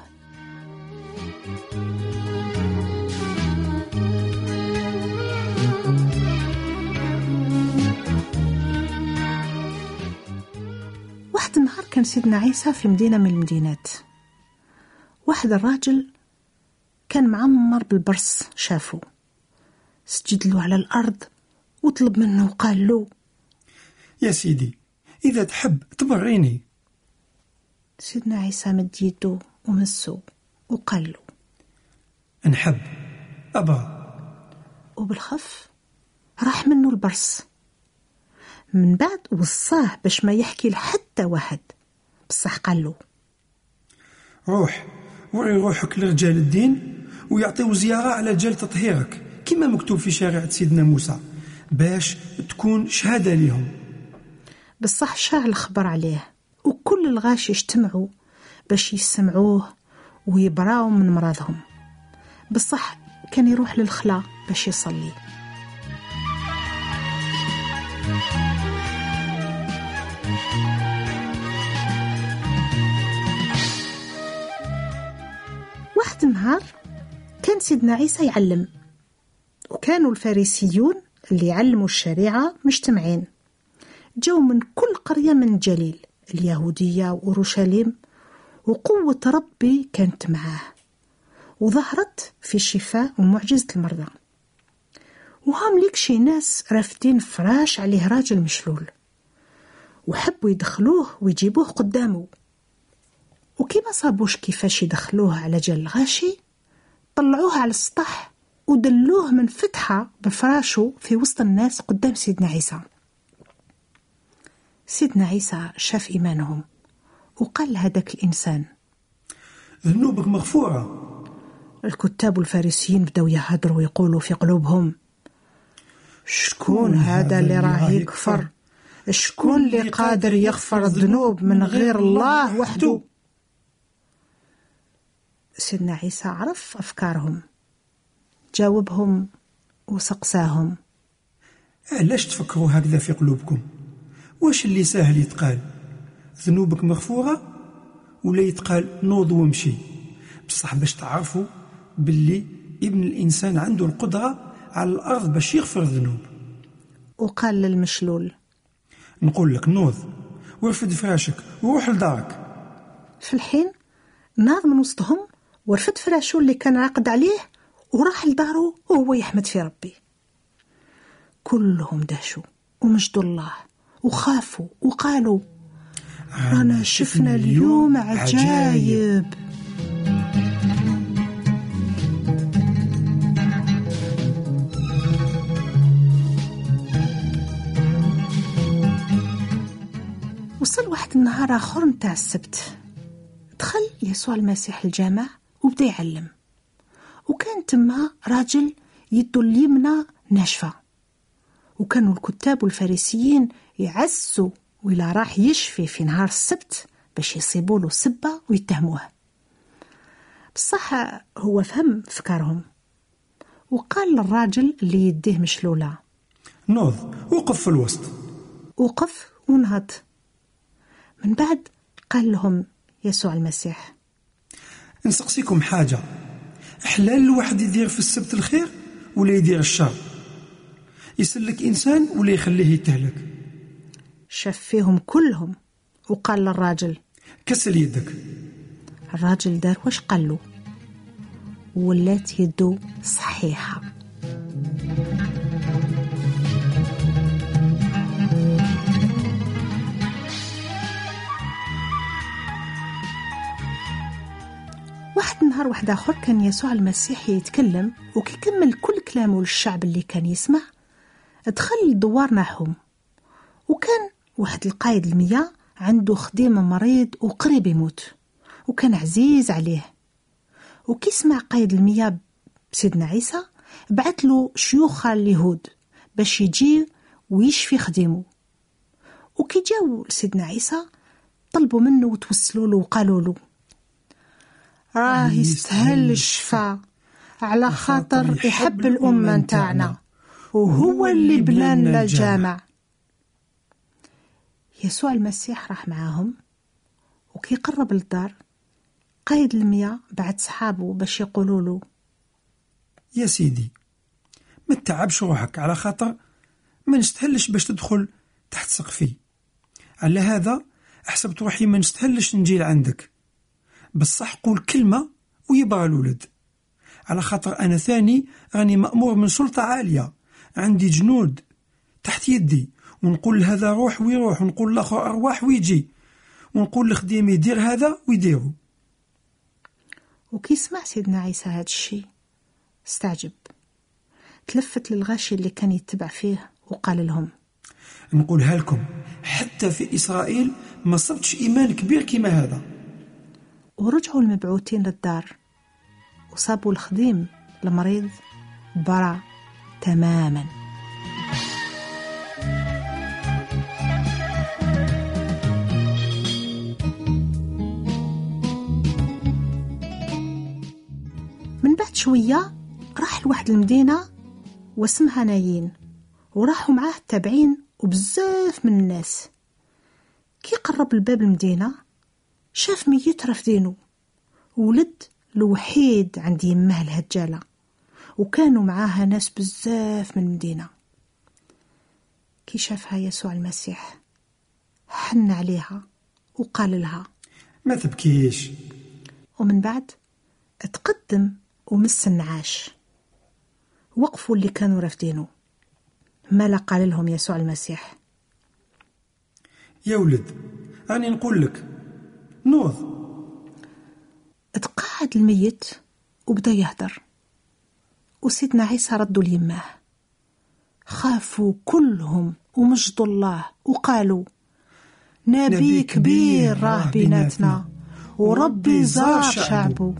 واحد النهار كان سيدنا عيسى في مدينة من المدينات. واحد الراجل كان معمر بالبرص شافه، سجد له على الأرض وطلب منه وقال له: يا سيدي إذا تحب تبريني. سيدنا عيسى مد يده ومسه وقال له: نحب أبا. وبالخف راح منه البرص. من بعد وصاه باش ما يحكي لحتى واحد، بصح قال له: روح وري روحك لرجال الدين ويعطيو زيارة على جال تطهيرك كما مكتوب في شريعة سيدنا موسى باش تكون شهادة لهم. بصح شاع الخبر عليه، وكل الغاشي اجتمعوا باش يسمعوه ويبراو من مرضهم. بصح كان يروح للخلا باش يصلي. واحد النهار كان سيدنا عيسى يعلم، وكانوا الفارسيون اللي يعلموا الشريعة مجتمعين، جو من كل قرية من الجليل اليهودية وأورشليم، وقوة ربي كانت معاه وظهرت في الشفاء ومعجزة المرضى. وهم ليك شي ناس رافدين فراش عليه راجل مشلول، وحبوا يدخلوه ويجيبوه قدامه، وكي ما صابوش كيفاش يدخلوه على جال الغاشي، طلعوه على السطح ودلوه من فتحة بفراشه في وسط الناس قدام سيدنا عيسى. سيدنا عيسى شاف إيمانهم وقال لهذاك الإنسان: ذنوبك مغفورة. الكتاب والفارسيين بدأوا يهدروا ويقولوا في قلوبهم: شكون هذا اللي راه يكفر؟ شكون اللي قادر يغفر الذنوب من غير الله وحده؟ سيدنا عيسى عرف أفكارهم، جاوبهم وسقساهم: علاش تفكروا هكذا في قلوبكم؟ واش اللي ساهل يتقال ذنوبك مغفورة ولا يتقال نوض وامشي؟ بصح باش تعرفوا باللي ابن الإنسان عنده القدرة على الأرض باش يغفر الذنوب. وقال للمشلول: نقول لك نوض ورفد فراشك وروح لدارك. في الحين ناض من وسطهم ورفد فراشو اللي كان راقد عليه وراح لداره وهو يحمد في ربي. كلهم دهشوا ومجدوا الله وخافوا وقالوا: رانا شفنا اليوم عجايب. وصل واحد النهار آخر متاع السبت، دخل يسوع المسيح الجامع وبدأ يعلم، وكان تما راجل يده اليمنى ناشفة، وكانوا الكتاب والفارسيين يعسوا ولا راح يشفي في نهار السبت باش يصيبوا له سبة ويتهموه. بصح هو فهم فكرهم وقال للراجل اللي يديه مشلولة: نوض وقف في الوسط. وقف ونهض. من بعد قال لهم يسوع المسيح: نسقسيكم حاجة، حلال الواحد يدير في السبت الخير ولا يدير الشر؟ يسلك إنسان ولا يخليه يتهلك؟ شاف فيهم كلهم وقال للراجل: كسل يدك. الراجل دار واش قال له، ولات يده صحيحة. واحد النهار واحد آخر كان يسوع المسيح يتكلم، وكيكمل كل كلامه للشعب اللي كان يسمع دخل الدوار ناحهم، وكان واحد القايد المياه عنده خديم مريض وقريب يموت وكان عزيز عليه. وكي سمع قايد المياه بسيدنا عيسى بعت له شيوخ اليهود باش يجي ويشفي خديمه. وكي جاو لسيدنا عيسى طلبوا منه وتوسلوا له وقالوا له: راه يستاهل الشفاء على خاطر يحب الأمة نتاعنا وهو اللي بنى الجامع. يسوع المسيح راح معاهم، وكي قرب للدار قايد المياه بعد صحابه باش يقولوا له: يا سيدي ما تتعبش روحك على خاطر ما نستهلش باش تدخل تحت سقفي، على هذا أحسبت روحي ما نستهلش نجي لعندك، بصح قول كلمة ويبغى الولد، على خاطر أنا ثاني راني مأمور من سلطة عالية، عندي جنود تحت يدي، ونقول هذا روح ويروح، ونقول الآخر أرواح ويجي، ونقول لخديمي يدير هذا ويديرو. وكي سمع سيدنا عيسى هذا الشيء استعجب، تلفت للغاشي اللي كان يتبع فيه وقال لهم: نقولها لكم، حتى في إسرائيل ما صبتش إيمان كبير كما هذا. ورجعوا المبعوثين للدار وصابوا الخديم المريض برع تماما. من بعد شوية راح لواحد المدينة واسمها نايين، وراحوا معاه التابعين وبزاف من الناس. كي قرب الباب المدينة شاف ميت رافدينه، ولد الوحيد عند يمه الهجالة، وكانوا معاها ناس بزاف من المدينة. كي شافها يسوع المسيح حن عليها وقال لها: ما تبكيش. ومن بعد اتقدم ومس النعاش. وقفوا اللي كانوا رافدينه. مالا قال لهم يسوع المسيح: يا ولد أنا نقول لك نوض. اتقاعد الميت وبدا يهدر، وسيدنا عيسى ردوا ليماه. خافوا كلهم ومجدوا الله وقالوا: نبي كبير راه بيناتنا، وربي زار شعبه.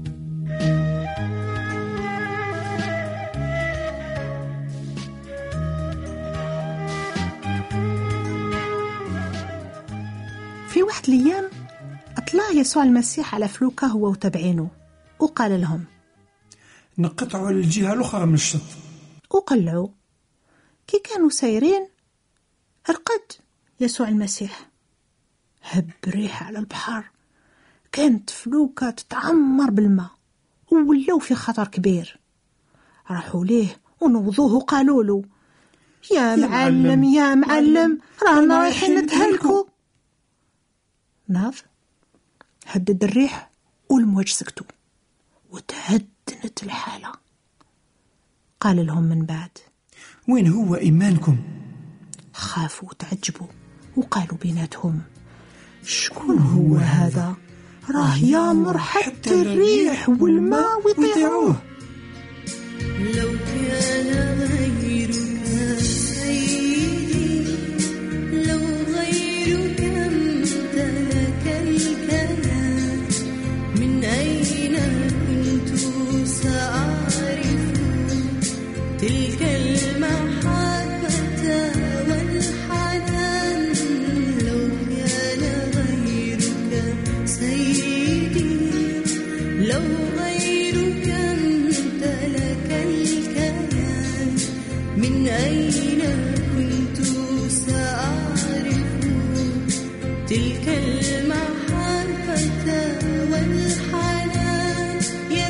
في واحد الأيام أطلع يسوع المسيح على فلوكة هو وتابعينه، وقال لهم: نقطعوا الجهة الأخرى من الشط. وقلعوا. كي كانوا سايرين رقد يسوع المسيح، هب ريح على البحر، كانت فلوكة تتعمر بالماء، وولاو في خطر كبير. راحوا ليه ونوضوه وقالوا له: يا معلم يا معلم، رانا رايحين نتهلكوا. ناض هدد الريح والمواج سكتوا وتهدنت الحالة. قال لهم من بعد: وين هو إيمانكم؟ خافوا وتعجبوا وقالوا بيناتهم: شكون هو هذا؟ راه يامر حتى الريح والماء ويطيعوه. لو كان غيرك سيدي، لو غيرك امتلك الكلام، من أين كنت سأعرف تلك المحبة والحنان. لو كان غيرك سيدي، لو غيرك امتلك الكيان، من أين كنت سأعرف تلك المحبة والحنان.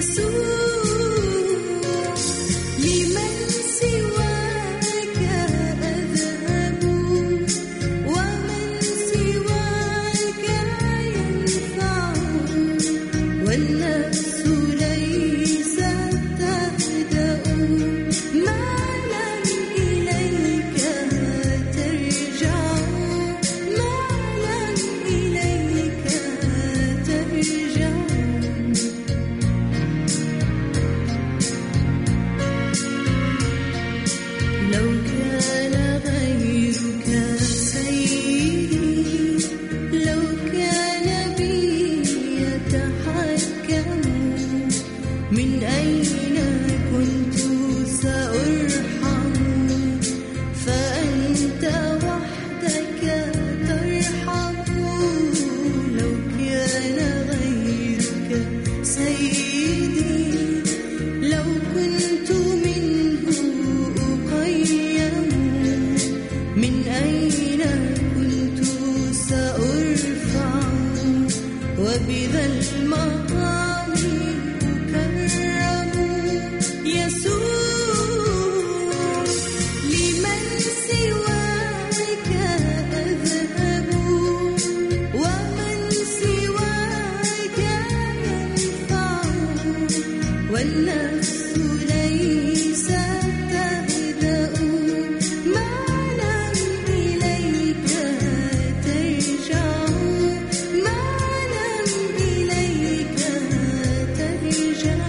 يسوع، لمن سواك أذهب، ومن سواك ينفع، والنفس ليست تهدأ ما لم إليك ترجع، ما لم إليك ترجع. لو كان غيرك سيدي، لو كان بي يتحكم، من أين كنت سأرحم؟ فأنت وحدك ترحم. لو كان غيرك سيدي، لو كنت منه أقيم، من أين كنت سأرفع؟ وبذا المقام أكرم. يسوع، والنفس ليست تهدأ ما لم إليك ترجع ما لم إليك ترجع.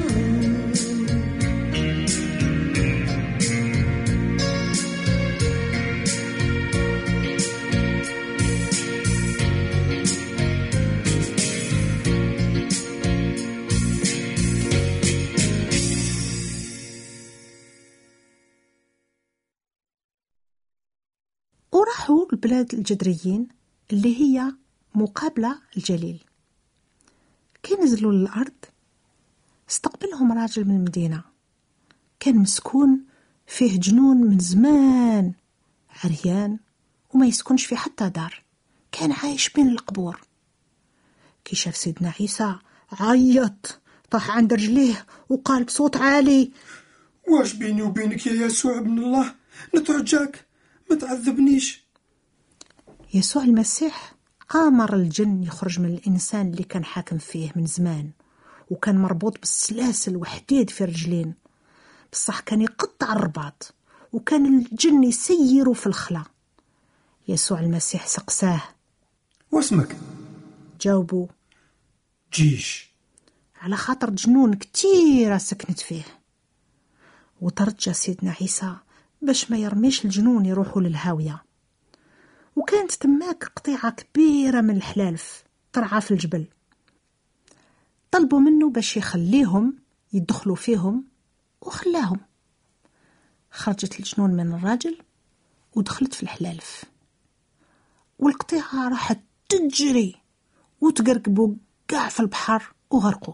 وراحوا البلاد الجدريين اللي هي مقابلة الجليل. كي نزلوا للأرض استقبلهم راجل من المدينة، كان مسكون فيه جنون من زمان، عريان وما يسكنش في حتى دار، كان عايش بين القبور. كي شاف سيدنا عيسى عيط، طاح عند رجليه وقال بصوت عالي: واش بيني وبينك يا يسوع ابن الله؟ نترجاك ما تعذبنيش. يسوع المسيح آمر الجن يخرج من الإنسان اللي كان حاكم فيه من زمان، وكان مربوط بالسلاسل وحديد في الرجلين، بصح كان يقطع الرباط، وكان الجن يسيروا في الخلا. يسوع المسيح سقساه: واسمك؟ جاوبوا: جيش. على خاطر جنون كتيرة سكنت فيه. وترجى سيدنا عيسى باش ما يرميش الجنون يروحوا للهاوية. وكانت تماك قطيعة كبيرة من الحلالف ترعى في الجبل، طلبوا منه باش يخليهم يدخلوا فيهم، وخلاهم. خرجت الجنون من الراجل ودخلت في الحلالف، والقطيعة راحت تجري وتقرقبوا قاع في البحر وغرقوا.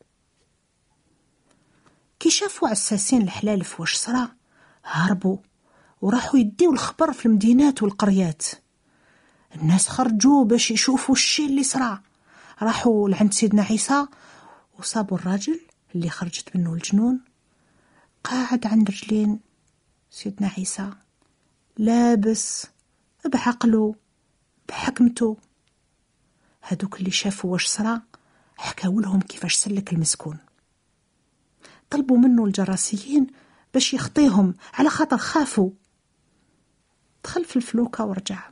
كي شافوا عساسين الحلالف واش صرا هربوا وراحوا يديوا الخبر في المدينات والقريات. الناس خرجوا باش يشوفوا الشيء اللي صرا، راحوا لعند سيدنا عيسى وصابوا الراجل اللي خرجت منه الجنون قاعد عند رجلين سيدنا عيسى، لابس بعقله بحكمته. هذوك اللي شافوا واش صرا حكاوا لهم كيفاش سلك المسكون، طلبوا منه الجراسيين باش يخطيهم على خاطر خافوا. دخل في الفلوكة ورجع.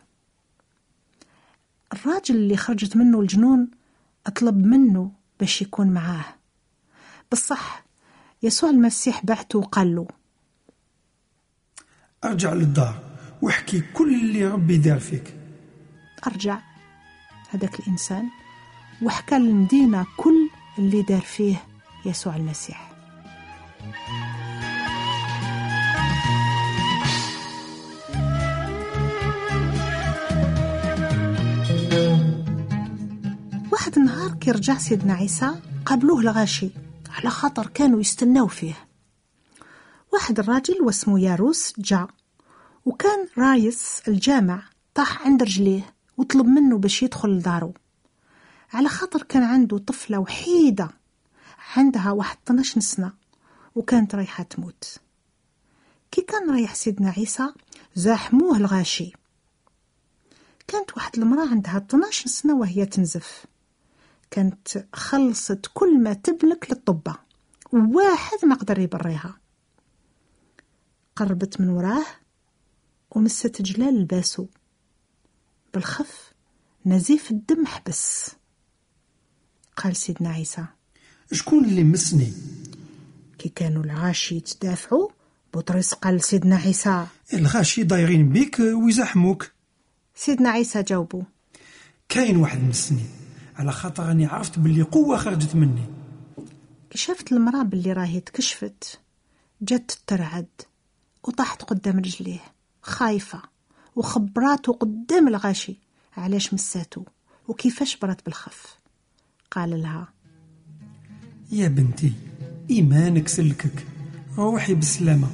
الراجل اللي خرجت منه الجنون اطلب منه باش يكون معاه، بالصح يسوع المسيح بعته وقال له: ارجع للدار واحكي كل اللي ربي دار فيك. أرجع هذاك الإنسان وحكى للمدينة كل اللي دار فيه يسوع المسيح. واحد النهار كي رجع سيدنا عيسى قابلوه الغاشي على خاطر كانوا يستناو فيه. واحد الراجل واسمه ياروس جاء وكان رايس الجامع، طاح عند رجليه وطلب منه باش يدخل لدارو على خاطر كان عنده طفلة وحيدة عندها 12 سنة وكانت رايحة تموت. كي كان رايح سيدنا عيسى زاحموه الغاشي. كانت واحد المرأة عندها 12 سنة وهي تنزف، كانت خلصت كل ما تملك للطبة وواحد ما قدر يبريها. قربت من وراه ومست جلال لباسه، بالخف نزيف الدم حبس. قال سيدنا عيسى: شكون اللي مسني؟ كي كانوا الغاشي يتدافعوا بطرس قال سيدنا عيسى: الغاشي دايرين بيك ويزحموك. سيدنا عيسى جاوبوا: كاين واحد مسني على خاطر اني عرفت باللي قوة خرجت مني. كي شافت المرأة باللي راهي تكشفت جت ترعد وطاحت قدام رجليه خايفة، وخبراته قدام الغاشي علاش مساتو وكيفاش برات بالخف. قال لها: يا بنتي إيمانك سلكك، روحي بالسلامة.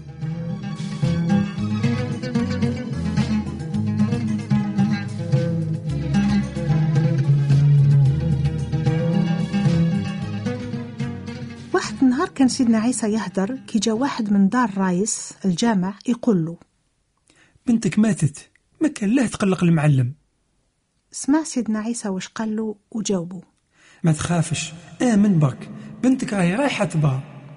واحد النهار كان سيدنا عيسى يهدر كي جا واحد من دار رايس الجامع يقول له: بنتك ماتت، ما كان له تقلق المعلم. سمع سيدنا عيسى واش قال له وجاوبه: ما تخافش، آمن برك، بنتك راهي رايحة تبا.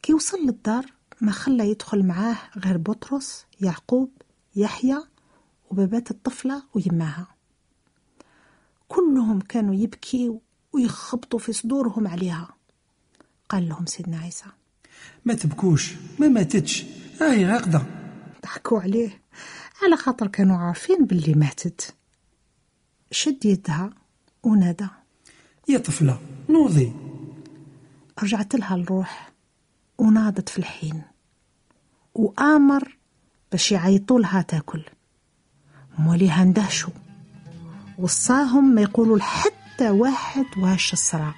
كي وصل للدار ما خلى يدخل معاه غير بطرس، يعقوب، يحيى وبابات الطفلة ويماها. كلهم كانوا يبكي ويخبطوا في صدورهم عليها. قال لهم سيدنا عيسى: ما تبكوش، ما ماتتش، راهي راقدة. ضحكوا عليه على خاطر كانوا عارفين باللي ماتت. شد يدها ونادى: يا طفلة نوضي. رجعت لها الروح وناضت في الحين، وآمر باش يعيطوا لها تاكل. موليها اندهشوا وصاهم ما يقولوا لحتى واحد واش الصراع.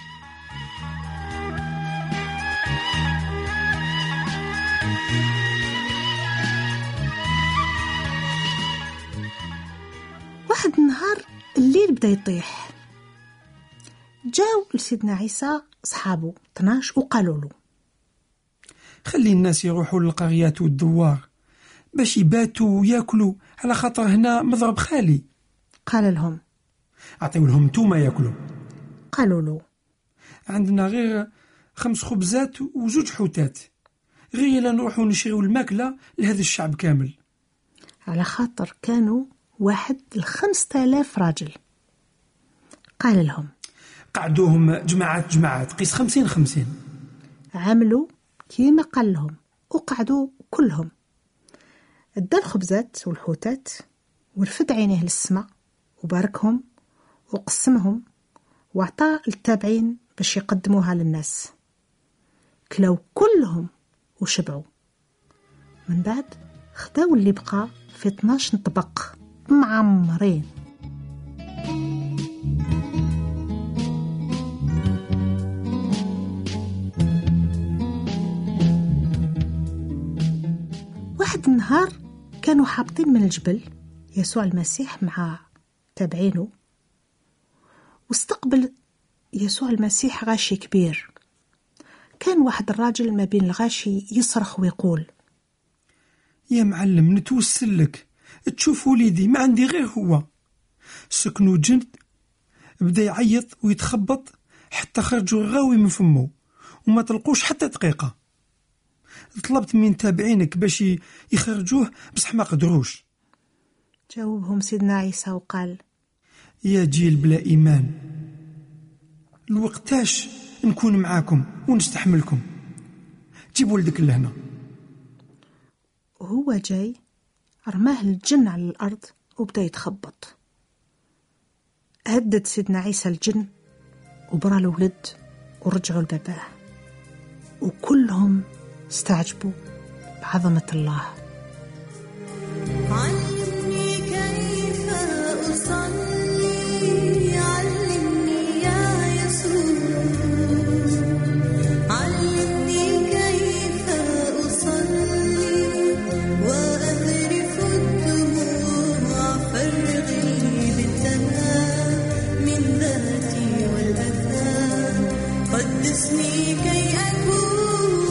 واحد النهار الليل بدا يطيح، جاو لسيدنا عيسى صحابه 12 وقالوا له: خلي الناس يروحوا للقريات والدوار باش يباتوا وياكلوا، على خاطر هنا مضرب خالي. قال لهم: أعطيو لهم انتوما ياكلوا. قالوا له: عندنا غير 5 خبزات و2 حوتات، غير إلا نروحوا نشريو الماكلة لهذا الشعب كامل. على خاطر كانوا 5000 راجل. قال لهم: قعدوهم جماعات قيس 50-50. عملوا كيما قال لهم وقعدوا كلهم. ادى الخبزات والحوتات ورفد عينيه للسماء وباركهم وقسمهم وعطى التابعين باش يقدموها للناس. كلاو كلهم وشبعوا. من بعد خداو اللي بقى في 12 طبق معمرين. واحد النهار كانوا حابطين من الجبل يسوع المسيح مع تابعينه، واستقبل يسوع المسيح غاشي كبير. كان واحد الراجل ما بين الغاشي يصرخ ويقول: يا معلم نتوسل لك، تشوف وليدي ما عندي غير هو، سكنوا جند. بدا يعيط ويتخبط حتى خرجوا الغاوي من فمه وما تلقوش حتى دقيقة. طلبت من تابعينك باش يخرجوه بصح ما قدروش. جاوبهم سيدنا عيسى وقال: يا جيل بلا إيمان، الوقتاش نكون معاكم ونستحملكم؟ جيب ولدك لهنا. وهو جاي رماه الجن على الأرض وبدأ يتخبط. هدد سيدنا عيسى الجن وبرا الولد ورجعوا لباباه، وكلهم استعجبوا بعظمة الله. علمني كيف أصلي، علمني يا يسوع، علمني كيف أصلي وأذرف الدموع، فرغي بالدماء من ذاتي والأثام، قدسني كي أكون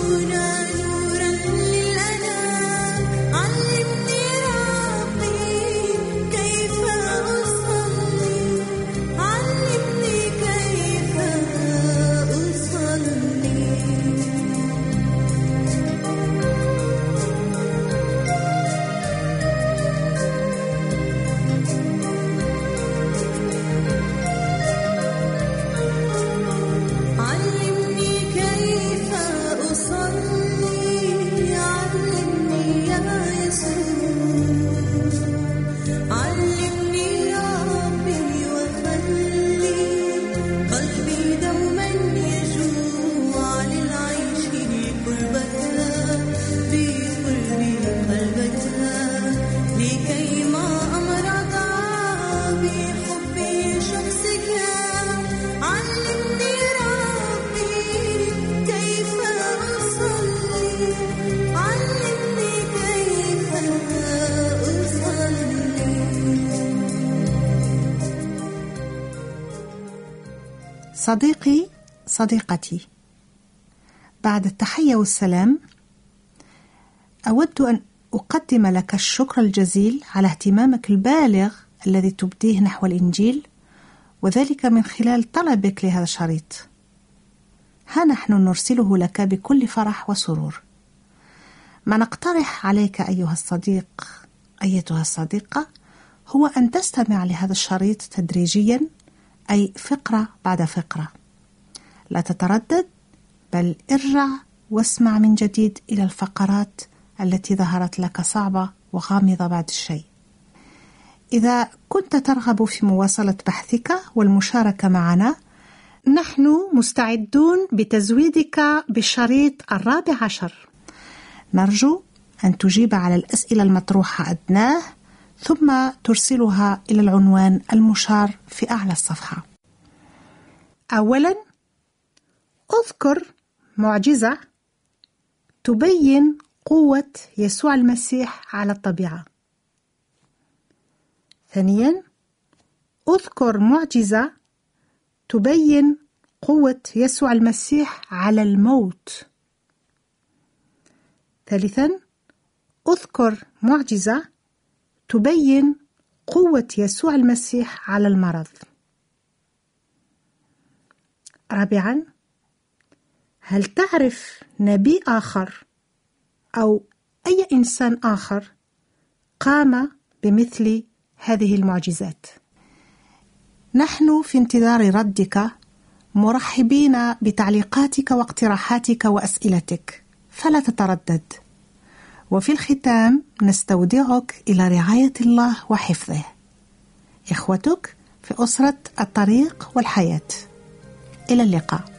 صديقي صديقتي، بعد التحية والسلام أود أن أقدم لك الشكر الجزيل على اهتمامك البالغ الذي تبديه نحو الإنجيل، وذلك من خلال طلبك لهذا الشريط. ها نحن نرسله لك بكل فرح وسرور. ما نقترح عليك أيها الصديق أيتها الصديقة هو أن تستمع لهذا الشريط تدريجيا، أي فقرة بعد فقرة. لا تتردد، بل ارجع واسمع من جديد إلى الفقرات التي ظهرت لك صعبة وغامضة بعد الشيء. إذا كنت ترغب في مواصلة بحثك والمشاركة معنا، نحن مستعدون بتزويدك بالشريط 14. نرجو أن تجيب على الأسئلة المطروحة أدناه، ثم ترسلها إلى العنوان المشار في أعلى الصفحة. أولا، اذكر معجزة تبين قوة يسوع المسيح على الطبيعة. ثانيا، اذكر معجزة تبين قوة يسوع المسيح على الموت. ثالثا، اذكر معجزة تبين قوة يسوع المسيح على المرض. رابعا، هل تعرف نبي آخر أو أي إنسان آخر قام بمثل هذه المعجزات؟ نحن في انتظار ردك، مرحبين بتعليقاتك واقتراحاتك وأسئلتك، فلا تتردد. وفي الختام نستودعك إلى رعاية الله وحفظه. إخوتك في أسرة الطريق والحياة. إلى اللقاء.